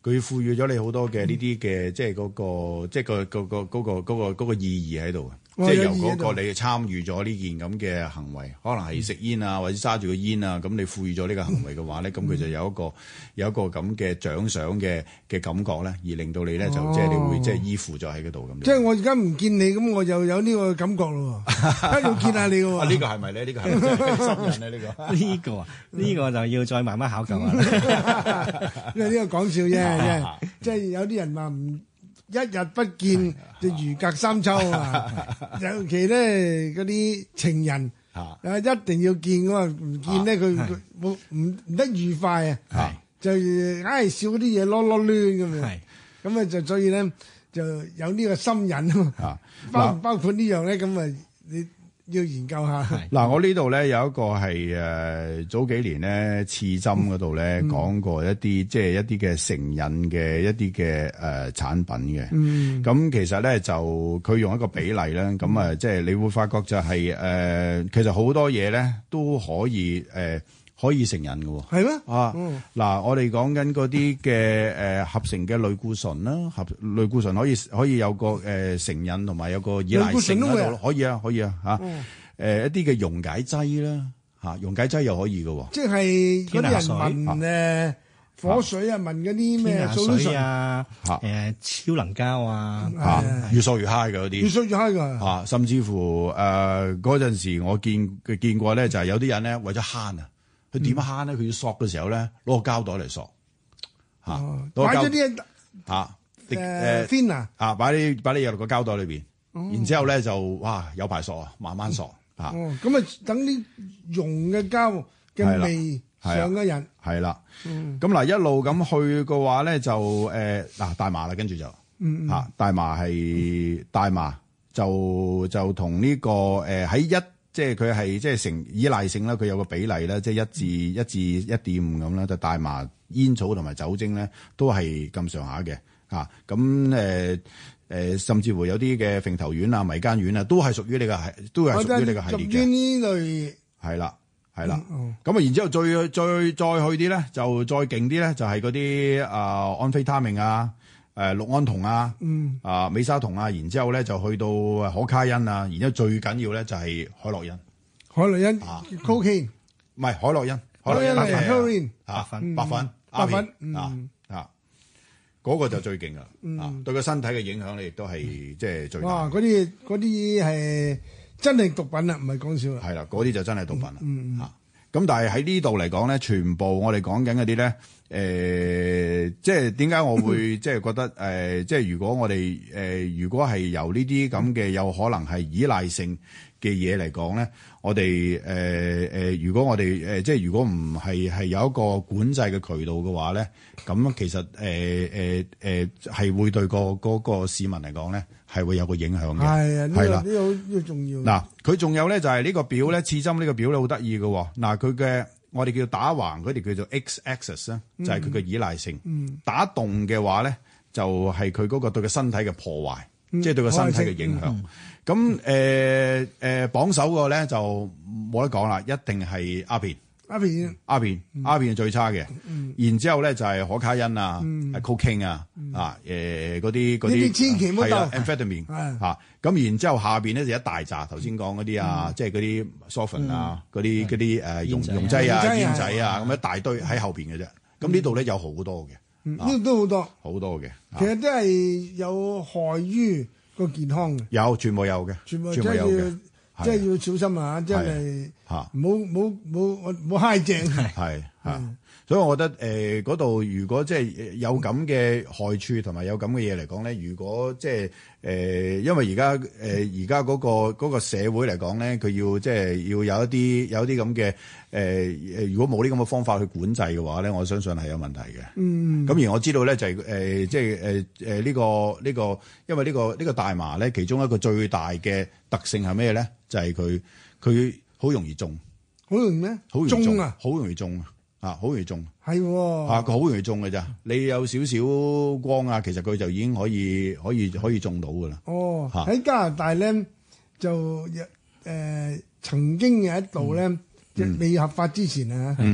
[SPEAKER 4] 佢賦予咗你好多嘅呢啲嘅，即係嗰個，即係個個個嗰個嗰個嗰個意義喺度。即係由嗰個你參與咗呢件咁嘅行為，可能係食煙啊，或者揸住個煙啊，咁你賦予咗呢個行為嘅話咧，咁佢就有一個有一個咁嘅獎賞嘅嘅感覺咧，而令到你咧就即係你會即係依附咗喺嗰度咁。
[SPEAKER 3] 即係我而家唔見你，咁我就有呢個感覺咯喎，一路見下你喎。
[SPEAKER 4] 啊，呢個係咪咧？呢個係咪新人咧？呢個
[SPEAKER 5] 呢個啊，呢個就要再慢慢考究下。
[SPEAKER 3] 因為呢個講笑啫，即係有啲人話唔。一日不見就如隔三秋啊！尤其咧嗰啲情人啊，一定要見噶嘛，唔見咧佢佢冇唔唔得愉快啊，就硬係笑嗰啲嘢囉囉攣咁樣，咁啊就所以咧就有呢個心癮啊，包唔包括呢樣咧？咁啊你要研究下。
[SPEAKER 4] 嗱，我呢度咧有一個係誒早幾年咧刺針嗰度咧講過一啲即係一啲嘅成癮嘅一啲嘅誒產品嘅。嗯，咁其實咧就佢用一個比例咧，咁啊即係你會發覺就係誒其實好多嘢咧都可以誒可以成癮嘅喎。係咩？啊，嗱，我哋講緊嗰啲嘅誒合成嘅類固醇啦，合類固醇可以可以有個誒成癮同埋有個依賴性喺度咯，可以啊，可以啊，嚇。誒一啲嘅溶解劑啦，嚇溶解劑又可以嘅喎。即
[SPEAKER 3] 係嗰啲人聞誒火水啊，聞嗰啲咩
[SPEAKER 5] 水啊，誒超能膠啊，
[SPEAKER 4] 嚇越索越 high 嘅嗰啲，
[SPEAKER 3] 越索越 high 㗎。
[SPEAKER 4] 嚇，甚至乎誒嗰陣時我見佢見過咧，就係有啲人咧為咗慳啊，佢點慳咧？佢要索嘅時候咧，攞個膠袋嚟索嚇，
[SPEAKER 3] 擺咗啲
[SPEAKER 4] 嚇
[SPEAKER 3] 誒 fin 啊，
[SPEAKER 4] 啊擺啲擺啲嘢落個膠袋裏邊，然之後咧就哇有排索啊，慢慢索。
[SPEAKER 3] 哦，咁啊，等啲溶嘅膠嘅味上嘅人
[SPEAKER 4] 係啦，咁嗱一路咁去嘅話咧，就誒嗱大麻啦，跟住就嚇大麻係大麻就就同呢個誒喺一即係佢係即係成依賴性啦，佢有個比例咧，即係一至一至一點五咁啦，就大麻煙草同埋酒精咧都係咁上下嘅嚇，咁誒。誒，甚至乎有啲嘅揈頭丸啊、迷姦丸啊，都係屬於你個係，都係屬於你個系列嘅。屬於呢類係啦，係啦。咁啊，然之後再再再去啲咧，就再勁啲咧，就係嗰啲啊安非他命啊、誒氯胺酮啊、啊美沙酮啊，然之後咧就去到可卡因啊，然之後最緊要咧就係海洛因。
[SPEAKER 3] 海洛因 cocaine
[SPEAKER 4] 唔係海洛因，
[SPEAKER 3] 海洛因係 heroin
[SPEAKER 4] 白粉、白粉、
[SPEAKER 3] 白粉
[SPEAKER 4] 啊啊。嗰個就最勁啦，啊，對個身體嘅影響咧，亦都係即係最大。哇！
[SPEAKER 3] 嗰啲嗰啲係真係毒品啦，唔係講笑啦。
[SPEAKER 4] 係啦，嗰啲就真係毒品啦，嚇。咁但係喺呢度嚟講咧，全部我哋講緊嗰啲咧，誒，即係點解我會即係覺得誒，即係如果我哋誒，如果係由呢啲咁嘅有可能係依賴性嘅嘢嚟講咧，我哋誒誒，如果我哋誒、呃、即係如果唔係係有一個管制嘅渠道嘅話咧，咁其實誒誒誒係會對個嗰個市民嚟講咧係會有個影響嘅。係啊，係啦，
[SPEAKER 3] 呢個呢個重要。
[SPEAKER 4] 嗱，佢仲有咧就係呢個表咧，刺針呢個表咧好得意嘅。嗱，佢嘅我哋叫打橫嗰條叫做 X-axis 咧，就係佢嘅依賴性。嗯、打動嘅話咧，就係佢嗰個對個身體嘅破壞。即係對個身體嘅影響，咁誒誒榜首個咧就冇得講啦，一定係鴉片，
[SPEAKER 3] 鴉片，
[SPEAKER 4] 鴉片，鴉片係最差嘅。然之後咧就係可卡因啊，cocaine 啊，啊誒嗰啲嗰啲
[SPEAKER 3] 千祈唔好鬥
[SPEAKER 4] amphetamine 嚇。咁然之後下邊咧就一大紮頭先講嗰啲啊，即係嗰啲 softine 啊，嗰啲嗰啲誒溶溶劑啊、煙仔啊，咁一大堆喺後邊嘅啫。咁呢度咧有好多嘅。
[SPEAKER 3] 呢度都好多，
[SPEAKER 4] 好多嘅，
[SPEAKER 3] 其實都係有害於個健康嘅。
[SPEAKER 4] 有，全部有嘅，
[SPEAKER 3] 全部真係要，即係要小心啊！真係嚇，唔好唔好唔好唔好揩正。
[SPEAKER 4] 係嚇，所以我覺得誒嗰度如果即係有咁嘅害處同埋有咁嘅嘢嚟講咧，如果即係誒，因為而家誒而家嗰個嗰個社會嚟講咧，佢要即係要有一啲有一啲咁嘅。誒誒、呃，如果冇呢咁嘅方法去管制嘅話咧，我相信係有問題嘅。嗯，咁而我知道咧就係、是、誒、呃，即係誒誒呢個呢、這個，因為呢、這個呢、這個大麻咧，其中一個最大嘅特性係咩咧？就係佢佢好容易中，
[SPEAKER 3] 好容易咩？
[SPEAKER 4] 好容易中，
[SPEAKER 3] 中啊，
[SPEAKER 4] 好容易中啊，好容易中。
[SPEAKER 3] 係喎，
[SPEAKER 4] 嚇佢好容易中嘅咋？你有少少光啊，其實佢就已經可以可以可以中到㗎啦。哦，
[SPEAKER 3] 喺、啊、加拿大咧就誒、呃、曾經有一度咧。嗯、未合法之前啊，嗯、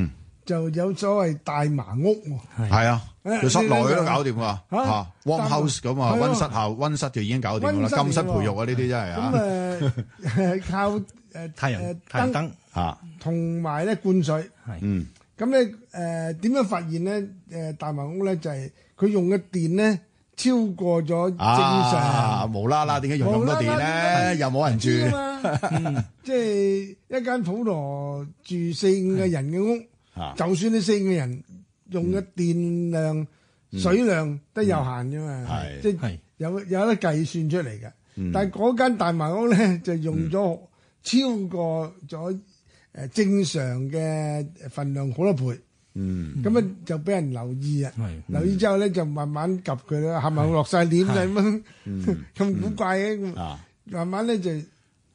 [SPEAKER 3] 就有所謂大麻屋喎。
[SPEAKER 4] 係啊，佢室內都搞掂㗎
[SPEAKER 3] 嚇
[SPEAKER 4] 嚇 warm house 咁啊，
[SPEAKER 3] 係啊
[SPEAKER 4] 溫室校溫室就已經搞掂㗎啦，
[SPEAKER 3] 溫室嚟㗎
[SPEAKER 4] 禁室培育啊，呢啲真係啊。
[SPEAKER 3] 咁誒靠誒
[SPEAKER 5] 太陽
[SPEAKER 3] 誒
[SPEAKER 5] 太陽燈
[SPEAKER 4] 嚇，
[SPEAKER 3] 同埋咧灌水。
[SPEAKER 5] 係
[SPEAKER 4] 嗯
[SPEAKER 3] 咁咧誒點樣發現咧？誒大麻屋咧就係佢用嘅電咧超過咗正常。
[SPEAKER 4] 啊，無啦啦點解用咁多電
[SPEAKER 3] 無啦啦
[SPEAKER 4] 咧？又冇人住。
[SPEAKER 3] 知啊嘛，即係一間普羅住四五個人嘅屋，
[SPEAKER 4] 啊
[SPEAKER 3] 就算你四五個人用嘅電量、水量都有限啫嘛，
[SPEAKER 4] 係
[SPEAKER 3] 即係
[SPEAKER 5] 係
[SPEAKER 3] 有有得計算出嚟嘅。
[SPEAKER 4] 嗯
[SPEAKER 3] 但係嗰間大麻屋咧就用咗超過咗誒正常嘅份量好多倍，
[SPEAKER 4] 嗯
[SPEAKER 3] 咁啊就俾人留意啊。
[SPEAKER 5] 係
[SPEAKER 3] 留意之後咧就慢慢及佢啦，係咪落晒鏈啦咁樣咁古怪嘅？
[SPEAKER 4] 啊，
[SPEAKER 3] 慢慢咧就誒、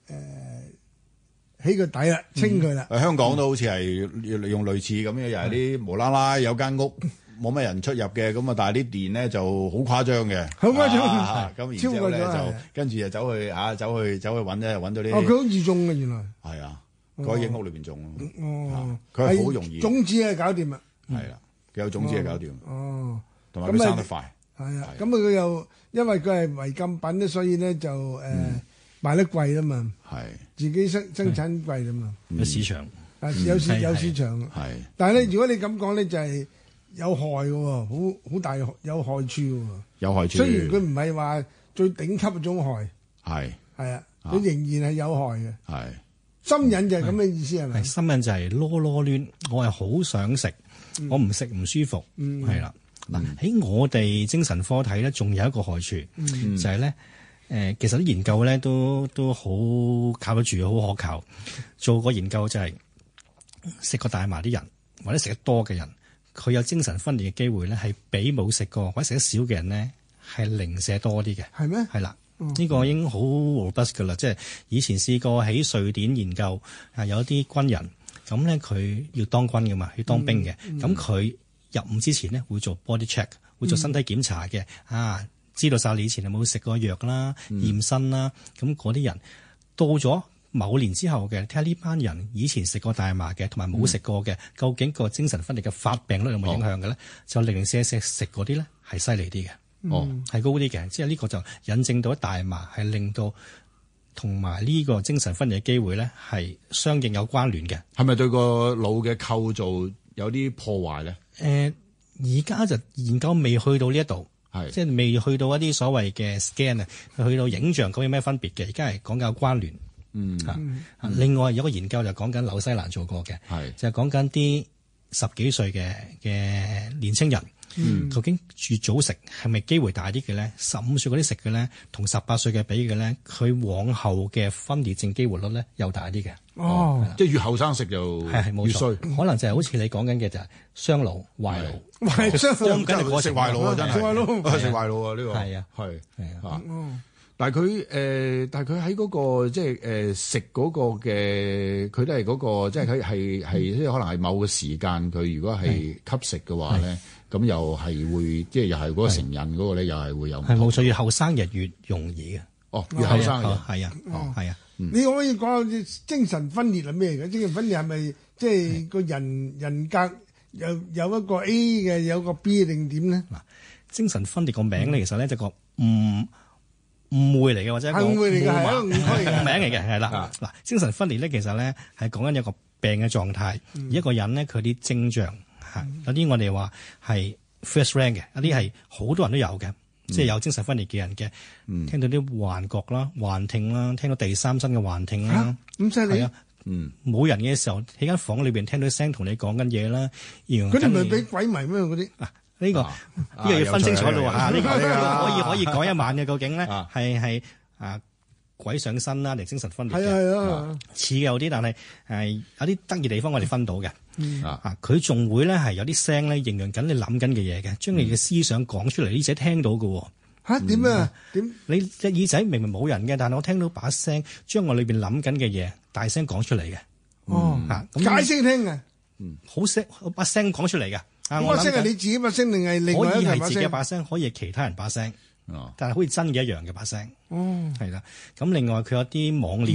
[SPEAKER 3] 起個底啦，清佢啦。
[SPEAKER 4] 誒香港都好似係用類似咁嘅，又係啲無啦啦有間屋冇乜人出入嘅，咁啊，但係啲電咧就好誇張嘅，
[SPEAKER 3] 好誇張
[SPEAKER 4] 啊咁然之後咧就
[SPEAKER 3] 超過咗係
[SPEAKER 4] 跟住就走去啊，走去走去揾咧，揾到
[SPEAKER 3] 哦，
[SPEAKER 4] 啲
[SPEAKER 3] 佢好易種嘅原來。
[SPEAKER 4] 係啊，嗰啲屋裏邊種咯，
[SPEAKER 3] 哦，
[SPEAKER 4] 佢係好容易
[SPEAKER 3] 種子係搞掂啦。
[SPEAKER 4] 係啦，佢有種子係搞掂，
[SPEAKER 3] 哦，
[SPEAKER 4] 同埋佢生得快，
[SPEAKER 3] 係啊，咁啊佢又因為佢係違禁品咧，所以咧就誒賣得貴啦嘛，
[SPEAKER 4] 係
[SPEAKER 3] 自己生生產貴啦嘛，
[SPEAKER 5] 有市場。
[SPEAKER 3] 啊有市
[SPEAKER 5] 係
[SPEAKER 3] 有市場。
[SPEAKER 4] 係
[SPEAKER 3] 但係咧，如果你咁講咧，就係有害嘅喎，好好大有害處嘅喎。
[SPEAKER 4] 有害處，
[SPEAKER 3] 雖然佢唔係話最頂級嗰種害，
[SPEAKER 4] 係
[SPEAKER 3] 係啊，佢仍然係有害嘅。
[SPEAKER 4] 係
[SPEAKER 3] 心癮就係咁嘅意思係咪
[SPEAKER 5] 係？新聞就係囉囉攣，我係好想食，我唔食唔舒服，係啦。嗱喺我哋精神科睇咧，仲有一個害處，就係咧誒，其實啲研究咧都都好靠得住，好可靠。做過研究就係食過大麻啲人，或者食得多嘅人，佢有精神分裂嘅機會咧，係比冇食過或者食得少嘅人咧係零舍多啲嘅。
[SPEAKER 3] 係咩？
[SPEAKER 5] 係啦。呢個已經好 robust 噶啦，即係以前試過喺瑞典研究，啊有啲軍人咁咧，佢要當軍噶嘛，要當兵嘅，咁佢、入伍之前咧會做 body check，會做身體檢查嘅，啊知道晒你以前有冇食過藥啦、驗身啦，咁嗰啲人到咗某年之後嘅，睇下呢班人以前食過大麻嘅，同埋冇食過嘅，究竟個精神分裂嘅發病率有冇影響嘅咧？就零零舍舍食嗰啲咧係犀利啲嘅。
[SPEAKER 4] 哦，
[SPEAKER 5] 係高啲嘅，即係呢個就引證到大麻係令到同埋呢個精神分裂嘅機會咧係相應有關聯嘅。
[SPEAKER 4] 係咪對個腦嘅構造有啲破壞咧？
[SPEAKER 5] 誒，而家就研究未去到呢一度，
[SPEAKER 4] 係
[SPEAKER 5] 即係未去到一啲所謂嘅 scan 啊，去到影像究竟有咩分別嘅？而家係講緊有關聯。
[SPEAKER 4] 嗯
[SPEAKER 5] 嚇、啊另外有個研究就講緊紐西蘭做過嘅，
[SPEAKER 4] 係
[SPEAKER 5] 就係講緊啲十幾歲嘅嘅年青人。嗯，究竟越早食係咪機會大啲嘅咧？十五歲嗰啲食嘅咧，同十八歲嘅比嘅咧，佢往後嘅分裂症機會率咧又大啲嘅。
[SPEAKER 3] 哦，
[SPEAKER 4] 即係越後生食就
[SPEAKER 5] 係係冇
[SPEAKER 4] 越衰
[SPEAKER 5] 錯，，可能就係好似你講緊嘅就係雙腦壞腦。
[SPEAKER 3] 壞傷
[SPEAKER 5] 當緊你嗰
[SPEAKER 4] 食壞腦啊！真係
[SPEAKER 3] 食壞腦
[SPEAKER 4] 食壞腦啊！呢個
[SPEAKER 5] 係啊
[SPEAKER 4] 係
[SPEAKER 5] 係啊
[SPEAKER 4] 啊。但係佢誒，但係佢喺嗰個即係誒食嗰個嘅，佢都係嗰個即係佢係係即係可能係某個時間，佢如果係吸食嘅話咧，咁又係會即係又係嗰個成癮嗰個咧，又係會有唔同
[SPEAKER 5] 係冇錯，越後生人越容易嘅。
[SPEAKER 4] 哦，越後生嘅人
[SPEAKER 5] 係啊，係啊，
[SPEAKER 3] 你可唔可以講下精神分裂係咩嘅？精神分裂係咪即係個人人格有有一個 A 嘅，有個 B 定點咧？
[SPEAKER 5] 嗱，精神分裂個名咧，其實咧就個誤誤會嚟嘅，或者一個
[SPEAKER 3] 誤會嚟嘅係一個
[SPEAKER 5] 誤
[SPEAKER 3] 誤區嘅
[SPEAKER 5] 名嚟嘅，係啦。嗱，精神分裂咧，其實咧係講緊有個病嘅狀態，而一個人咧佢啲徵象嚇，有啲我哋話係 first rank 嘅，有啲係好多人都有嘅，即係有精神分裂嘅人嘅，聽到啲幻覺啦、幻聽啦，聽到第三身嘅幻聽啦，
[SPEAKER 3] 咁犀利
[SPEAKER 5] 係啊，
[SPEAKER 4] 嗯，
[SPEAKER 5] 冇人嘅時候喺間房裏邊聽到聲同你講緊嘢啦，然後
[SPEAKER 3] 嗰啲咪
[SPEAKER 5] 跟住
[SPEAKER 3] 俾鬼迷咩嗰啲？
[SPEAKER 5] 呢個呢個要分清楚咯嚇，呢個
[SPEAKER 4] 呢個
[SPEAKER 5] 可以可以講一晚嘅，究竟咧
[SPEAKER 4] 啊
[SPEAKER 5] 係係啊鬼上身啦，定精神分裂
[SPEAKER 3] 係啊
[SPEAKER 5] 嘅，
[SPEAKER 3] 係啊，
[SPEAKER 5] 似嘅有啲，但係誒有啲得意地方我哋分到嘅
[SPEAKER 4] 啊
[SPEAKER 5] 啊，佢仲會咧係有啲聲咧形容緊你諗緊嘅嘢嘅，將你嘅思想講出嚟，呢仔聽到嘅喎。
[SPEAKER 3] 嚇點啊？點
[SPEAKER 5] 你隻耳仔明明冇人嘅，但係我聽到把聲將我裏邊諗緊嘅嘢大聲講出嚟嘅
[SPEAKER 3] 哦
[SPEAKER 5] 嚇，咁
[SPEAKER 3] 解釋聽嘅？
[SPEAKER 5] 好聲把聲講出嚟嘅。啊
[SPEAKER 3] 嗰
[SPEAKER 5] 我諗緊
[SPEAKER 3] 把聲係你自己把聲定係另外
[SPEAKER 5] 可以係
[SPEAKER 3] 一個把聲？
[SPEAKER 5] 自己把聲，可以係其他人把聲，
[SPEAKER 4] 哦
[SPEAKER 5] 但係好似真嘅一樣嘅把聲。
[SPEAKER 3] 哦，
[SPEAKER 5] 係啦，咁另外佢有啲妄念啦，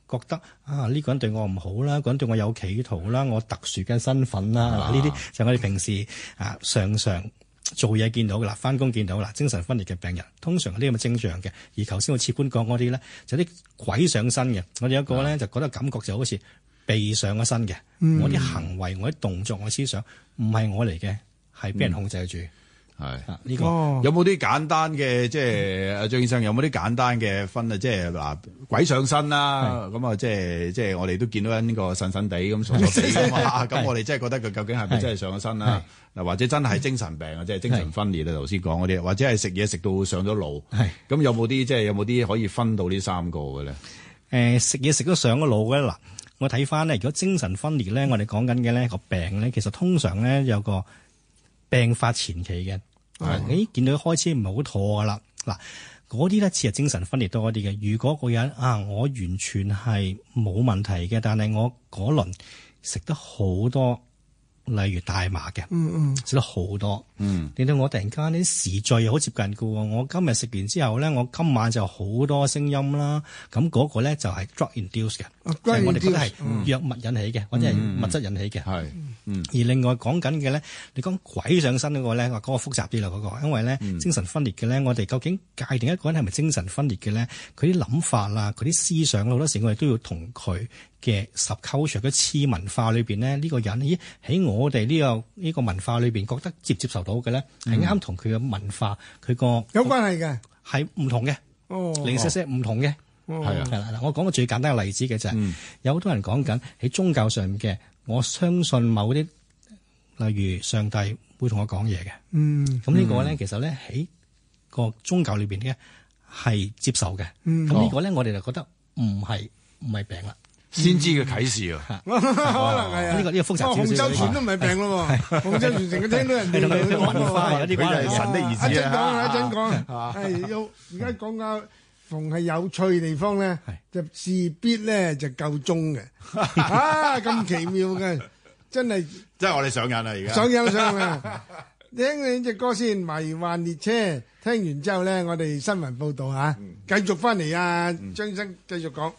[SPEAKER 5] 覺得啊呢、呢個人對我唔好啦，呢個人對我有企圖啦，我特殊嘅身份啦，嗱呢啲就係我哋平時啊常常做嘢見到噶啦，翻工見到啦，精神分裂嘅病人通常有啲咁嘅徵象嘅。而頭先我切般講嗰啲咧，就啲鬼上身嘅。我哋有一個咧就覺得感覺就好似被上咗身嘅，嗯、我啲行為、我啲動作、我思想唔係我嚟嘅，係俾人控制住。
[SPEAKER 4] 係呢、
[SPEAKER 5] 啊呢個、
[SPEAKER 3] 哦、
[SPEAKER 4] 有冇啲簡單嘅，即係阿張醫生有冇啲簡單嘅分啊？即係嗱鬼上身啦，咁啊即係即係我哋都見到呢個神神地咁傻傻地㗎嘛。咁我哋真係覺得佢究竟係咪真係上咗身啦？嗱或者真係精神病啊，即係精神分裂啊，頭先講嗰啲，或者係食嘢食到上咗腦。係咁有冇啲即係有冇啲可以分到呢三個嘅咧？誒
[SPEAKER 5] 食嘢食到上咗腦嘅嗱，我睇翻咧，如果精神分裂咧，我哋講緊嘅咧個病咧，其實通常咧有個病發前期嘅，誒、嗯，見到開始唔係好妥噶啦，嗱，嗰啲咧似係精神分裂多啲嘅。如果個人啊，我完全係冇問題嘅，但係我嗰輪食得好多，例如大麻嘅，嗯嗯，食得好多，嗯，令到我突然間啲時序又好接近嘅喎。我今日食完之後咧，我今晚就好多聲音啦。咁嗰個咧就係 drug induced 嘅，即係我哋覺得係藥物引起嘅，或者係物質引起嘅。係，嗯。而另外講緊嘅咧，你講鬼上身嗰個咧，話嗰個複雜啲啦，嗰個，因為咧精神分裂嘅咧，我哋究竟界定一個人係咪精神分裂嘅咧？佢啲諗法啊，佢啲思想好多時我哋都要同佢嘅 subculture 嘅次文化裏邊咧，呢、呢個人咦喺我哋呢、呢個呢、呢個文化裏邊覺得接唔接受到嘅咧，係啱同佢嘅文化佢個
[SPEAKER 3] 有關係嘅，
[SPEAKER 5] 係唔同嘅，哦，零零舍舍唔同嘅，係啊，係啦，嗱，我講個最簡單嘅例子嘅就係、是嗯、有好多人講緊喺宗教上面嘅，我相信某啲例如上帝會同我講嘢嘅，嗯，咁呢個咧其實咧喺個宗教裏邊咧係接受嘅，咁、嗯、呢個咧我哋就覺得唔係唔係病啦。
[SPEAKER 4] 先知嘅啟示啊，
[SPEAKER 3] 可能係啊，呢
[SPEAKER 5] 個呢個複雜少少。
[SPEAKER 3] 洪州全都唔係病咯喎，洪州全成日聽到人哋
[SPEAKER 5] 嘅文化有啲關係，
[SPEAKER 4] 神的兒子
[SPEAKER 3] 一陣講，一陣講，係要而家講緊逢係有趣嘅地方咧，就事必咧就夠鐘嘅，啊咁奇妙嘅，真係
[SPEAKER 4] 即係我哋上癮啦而家。
[SPEAKER 3] 上癮上啊！聽你隻歌先，《迷幻列車》，聽完之後咧，我哋新聞報導嚇，繼續翻嚟啊，張生繼續講。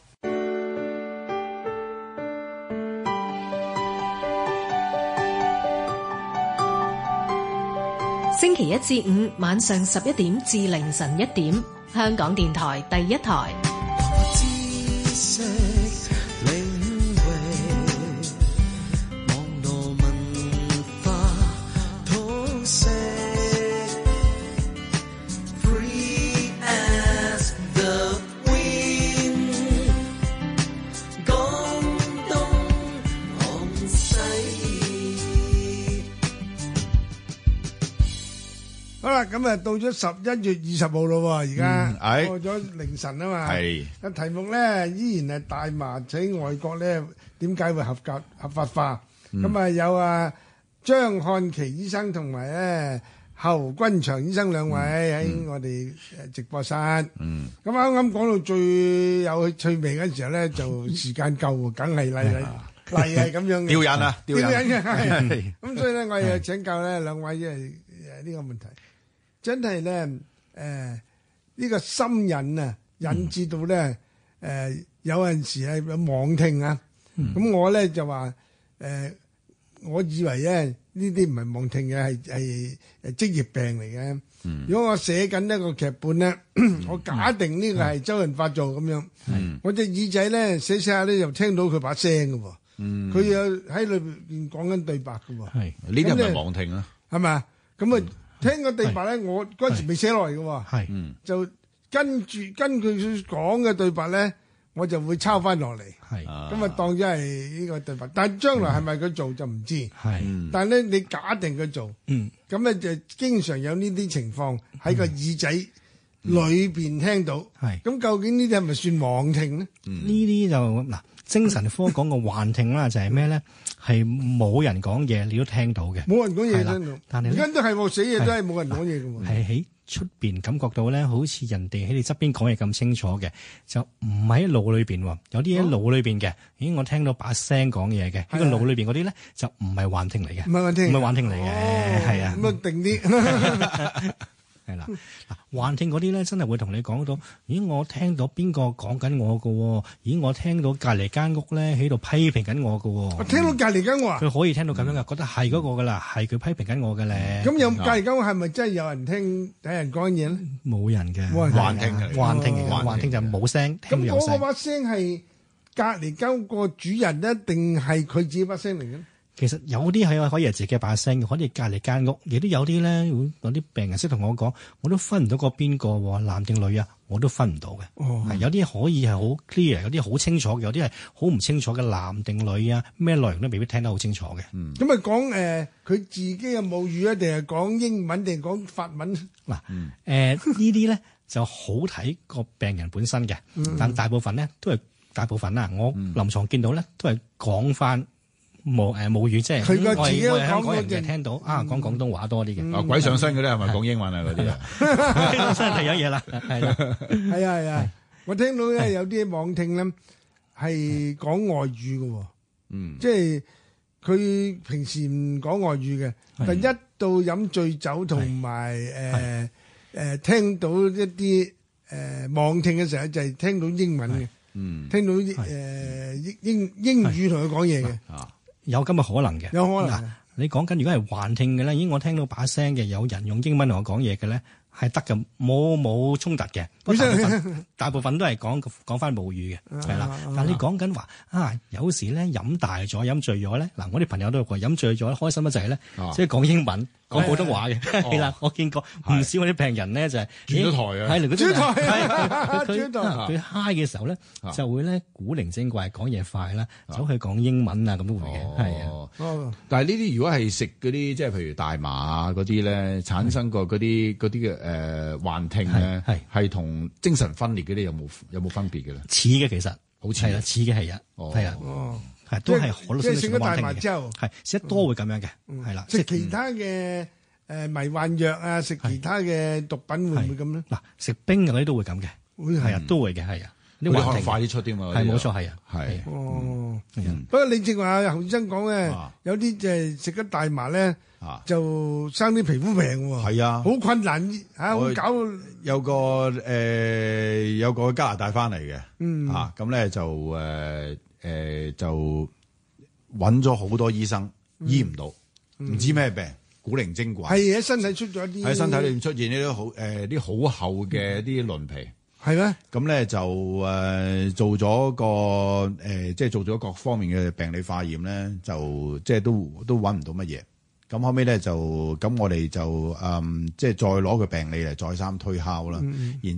[SPEAKER 1] 星期一至五晚上十一點至凌晨一點，香港電台第一台。
[SPEAKER 3] 好啦，咁啊到咗十一月二十號咯，而家過咗凌晨啊嘛。係個題目咧依然係大麻喺外國咧點解會合格合法化？咁啊有啊張漢琪醫生同埋咧侯君祥醫生兩位喺我哋誒直播室。嗯，咁啱啱講到最有趣味嗰時候咧，就時間夠，梗係嚟嚟嚟係咁樣嘅。吊癮啊，吊癮嘅係。咁所以咧，我又請教咧兩位誒誒呢個問題。真係咧，誒、呃、呢、這個心癮啊，引致到咧，誒、呃、有陣時係有妄聽啊。咁、嗯、我咧就話，誒、呃，我以為咧呢啲唔係妄聽嘅，係係誒職業病嚟嘅。嗯、如果我寫緊一個劇本咧，嗯、我假定呢個係周潤發做咁樣，嗯、我隻耳仔咧寫寫下咧又聽到佢把聲嘅喎。佢又喺裏邊講緊對白嘅喎。係呢啲係咪妄聽啊？係咪啊？咁啊？聽個對白咧，我嗰陣時未寫落嚟嘅喎，就跟住跟佢講嘅對白咧，我就會抄翻落嚟，咁啊當咗係呢個對白。但係將來係咪佢做就唔知，係但係咧你假定佢做，咁咧就經常有呢啲情況喺個耳仔裏邊聽到，咁究竟呢啲係咪算妄聽咧？
[SPEAKER 5] 呢啲就嗱。精神科講個幻聽啦，就係咩咧？係冇人講嘢，你都聽到嘅。
[SPEAKER 3] 冇人講嘢聽到，
[SPEAKER 5] 但係
[SPEAKER 3] 而家都係喎，死嘢都係冇人講嘢嘅喎。
[SPEAKER 5] 係喺出邊感覺到咧，好似人哋喺你側邊講嘢咁清楚嘅，就唔喺腦裏邊喎。有啲喺腦裏邊嘅，咦？我聽到把聲講嘢嘅，喺個腦裏邊嗰啲咧就唔係幻聽嚟嘅，
[SPEAKER 3] 唔係幻聽，
[SPEAKER 5] 唔係幻聽嚟嘅，係啊。
[SPEAKER 3] 咁啊定啲。
[SPEAKER 5] 係啦，嗱，幻聽嗰啲咧，真係會同你講到，咦，我聽到邊個講緊我㗎喎？咦，我聽到隔離間屋咧喺度批評緊我㗎喎。
[SPEAKER 3] 我聽到隔離間屋啊，
[SPEAKER 5] 佢可以聽到咁樣嘅，覺得係嗰個㗎啦，係佢批評緊我嘅咧。
[SPEAKER 3] 咁有隔離間屋係咪真係有人聽睇人講嘢咧？
[SPEAKER 5] 冇人嘅，
[SPEAKER 3] 冇人
[SPEAKER 4] 幻聽嘅，
[SPEAKER 5] 幻聽嘅，
[SPEAKER 4] 幻聽
[SPEAKER 5] 幻聽就冇聲，聽
[SPEAKER 3] 咁
[SPEAKER 5] 到有聲。
[SPEAKER 3] 嗰個把聲係隔離間屋個主人咧，定係佢自己把聲嚟嘅？
[SPEAKER 5] 其實有啲係可以係自己把聲嘅，可以隔離間屋，亦都有啲咧，有啲病人識同我講，我都分唔到個邊個喎，男定女啊，我都分唔到嘅。
[SPEAKER 3] 哦，
[SPEAKER 5] 係有啲可以係好 clear，有啲好清楚嘅，有啲係好唔清楚嘅，男定女啊，咩內容都未必聽得好清楚嘅。
[SPEAKER 4] 嗯，
[SPEAKER 3] 咁啊講誒佢自己嘅母語啊，定係講英文定係講法文？
[SPEAKER 5] 嗱，誒呢啲咧就好睇個病人本身嘅，但大部分咧都係大部分啦，我臨床見到咧都係講翻。母誒母語即係
[SPEAKER 3] 佢個
[SPEAKER 5] 我
[SPEAKER 3] 自己
[SPEAKER 5] 係香港
[SPEAKER 3] 講
[SPEAKER 5] 人嘅聽到啊，講廣東話多啲嘅。
[SPEAKER 4] 啊鬼上身嗰啲係咪講英文啊？嗰啲啊，
[SPEAKER 5] 鬼上身係有嘢啦，係啦，
[SPEAKER 3] 係啊係啊，我聽到咧有啲網聽咧係講外語嘅喎，
[SPEAKER 4] 嗯，
[SPEAKER 3] 即係佢平時唔講外語嘅，但一到飲醉酒同埋誒誒聽到一啲誒網聽嘅時候，就係聽到英文嘅，
[SPEAKER 4] 嗯，
[SPEAKER 3] 聽到誒英英英語同佢講嘢嘅。
[SPEAKER 4] 啊。
[SPEAKER 5] 有咁嘅可能嘅，
[SPEAKER 3] 有可能
[SPEAKER 5] 嗱，你講緊如果係幻聽嘅咧，已經我聽到把聲嘅，有人用英文同我講嘢嘅咧，係得嘅，冇冇衝突嘅。大部分大部分都係講講翻母語嘅，係啦。但係你講緊話啊，有時咧飲大咗、飲醉咗咧，嗱，我啲朋友都話飲醉咗開心得滯咧，即係講英文、講普通話嘅，係啦。我見過唔少我啲病人咧就係
[SPEAKER 4] 轉咗台啊，
[SPEAKER 5] 係嚟嗰
[SPEAKER 3] 轉台
[SPEAKER 5] 係佢
[SPEAKER 3] 轉台
[SPEAKER 5] 佢 high 嘅時候咧，就會咧古靈精怪講嘢快啦，走去講英文啊咁都會嘅，係啊。
[SPEAKER 3] 哦，
[SPEAKER 4] 但係呢啲如果係食嗰啲，即係譬如大麻啊嗰啲咧，產生過嗰啲嗰啲嘅誒幻聽咧，
[SPEAKER 5] 係
[SPEAKER 4] 係同精神分裂嗰啲有冇有冇分別嘅咧？
[SPEAKER 5] 似嘅其實
[SPEAKER 4] 好似
[SPEAKER 5] 係啦，似嘅係啊，
[SPEAKER 4] 哦
[SPEAKER 5] 係啊，
[SPEAKER 3] 哦，
[SPEAKER 5] 係都係好多
[SPEAKER 3] 即係食咗大
[SPEAKER 5] 幻聽嘅
[SPEAKER 3] 麻之後，
[SPEAKER 5] 係食得多會咁樣嘅，係啦，
[SPEAKER 3] 食其他嘅誒迷幻藥啊，食其他嘅毒品會唔會咁咧？
[SPEAKER 5] 嗱，食冰嗰啲都會咁嘅，
[SPEAKER 3] 會
[SPEAKER 5] 係啊，都會嘅，係啊，
[SPEAKER 4] 嗰啲可能快啲出啲嘛，
[SPEAKER 5] 係冇錯，係啊，
[SPEAKER 4] 係
[SPEAKER 3] 哦，
[SPEAKER 4] 嗯
[SPEAKER 3] 不過你正話侯醫生講咧
[SPEAKER 4] 啊，
[SPEAKER 3] 有啲就係食咗大麻咧，
[SPEAKER 4] 啊，
[SPEAKER 3] 就生啲皮膚病喎，
[SPEAKER 4] 係啊，
[SPEAKER 3] 好困難嚇，
[SPEAKER 4] 我
[SPEAKER 3] 會搞
[SPEAKER 4] 有個誒、呃、有個加拿大翻嚟嘅，
[SPEAKER 3] 嗯
[SPEAKER 4] 啊咁咧就誒誒、呃呃、就揾咗好多醫生醫唔到，唔、知咩病，古靈精怪，
[SPEAKER 3] 係喺身體出咗啲
[SPEAKER 4] 喺身體裏面出現呢啲好誒啲好厚嘅啲鱗皮。
[SPEAKER 3] 係咩？
[SPEAKER 4] 咁咧就誒、呃、做咗個誒、呃，即係做咗各方面嘅病理化驗咧，就即係都都揾唔到乜嘢。咁後尾咧就咁，我哋就誒、嗯、即係再攞個病理嚟再三推敲啦。然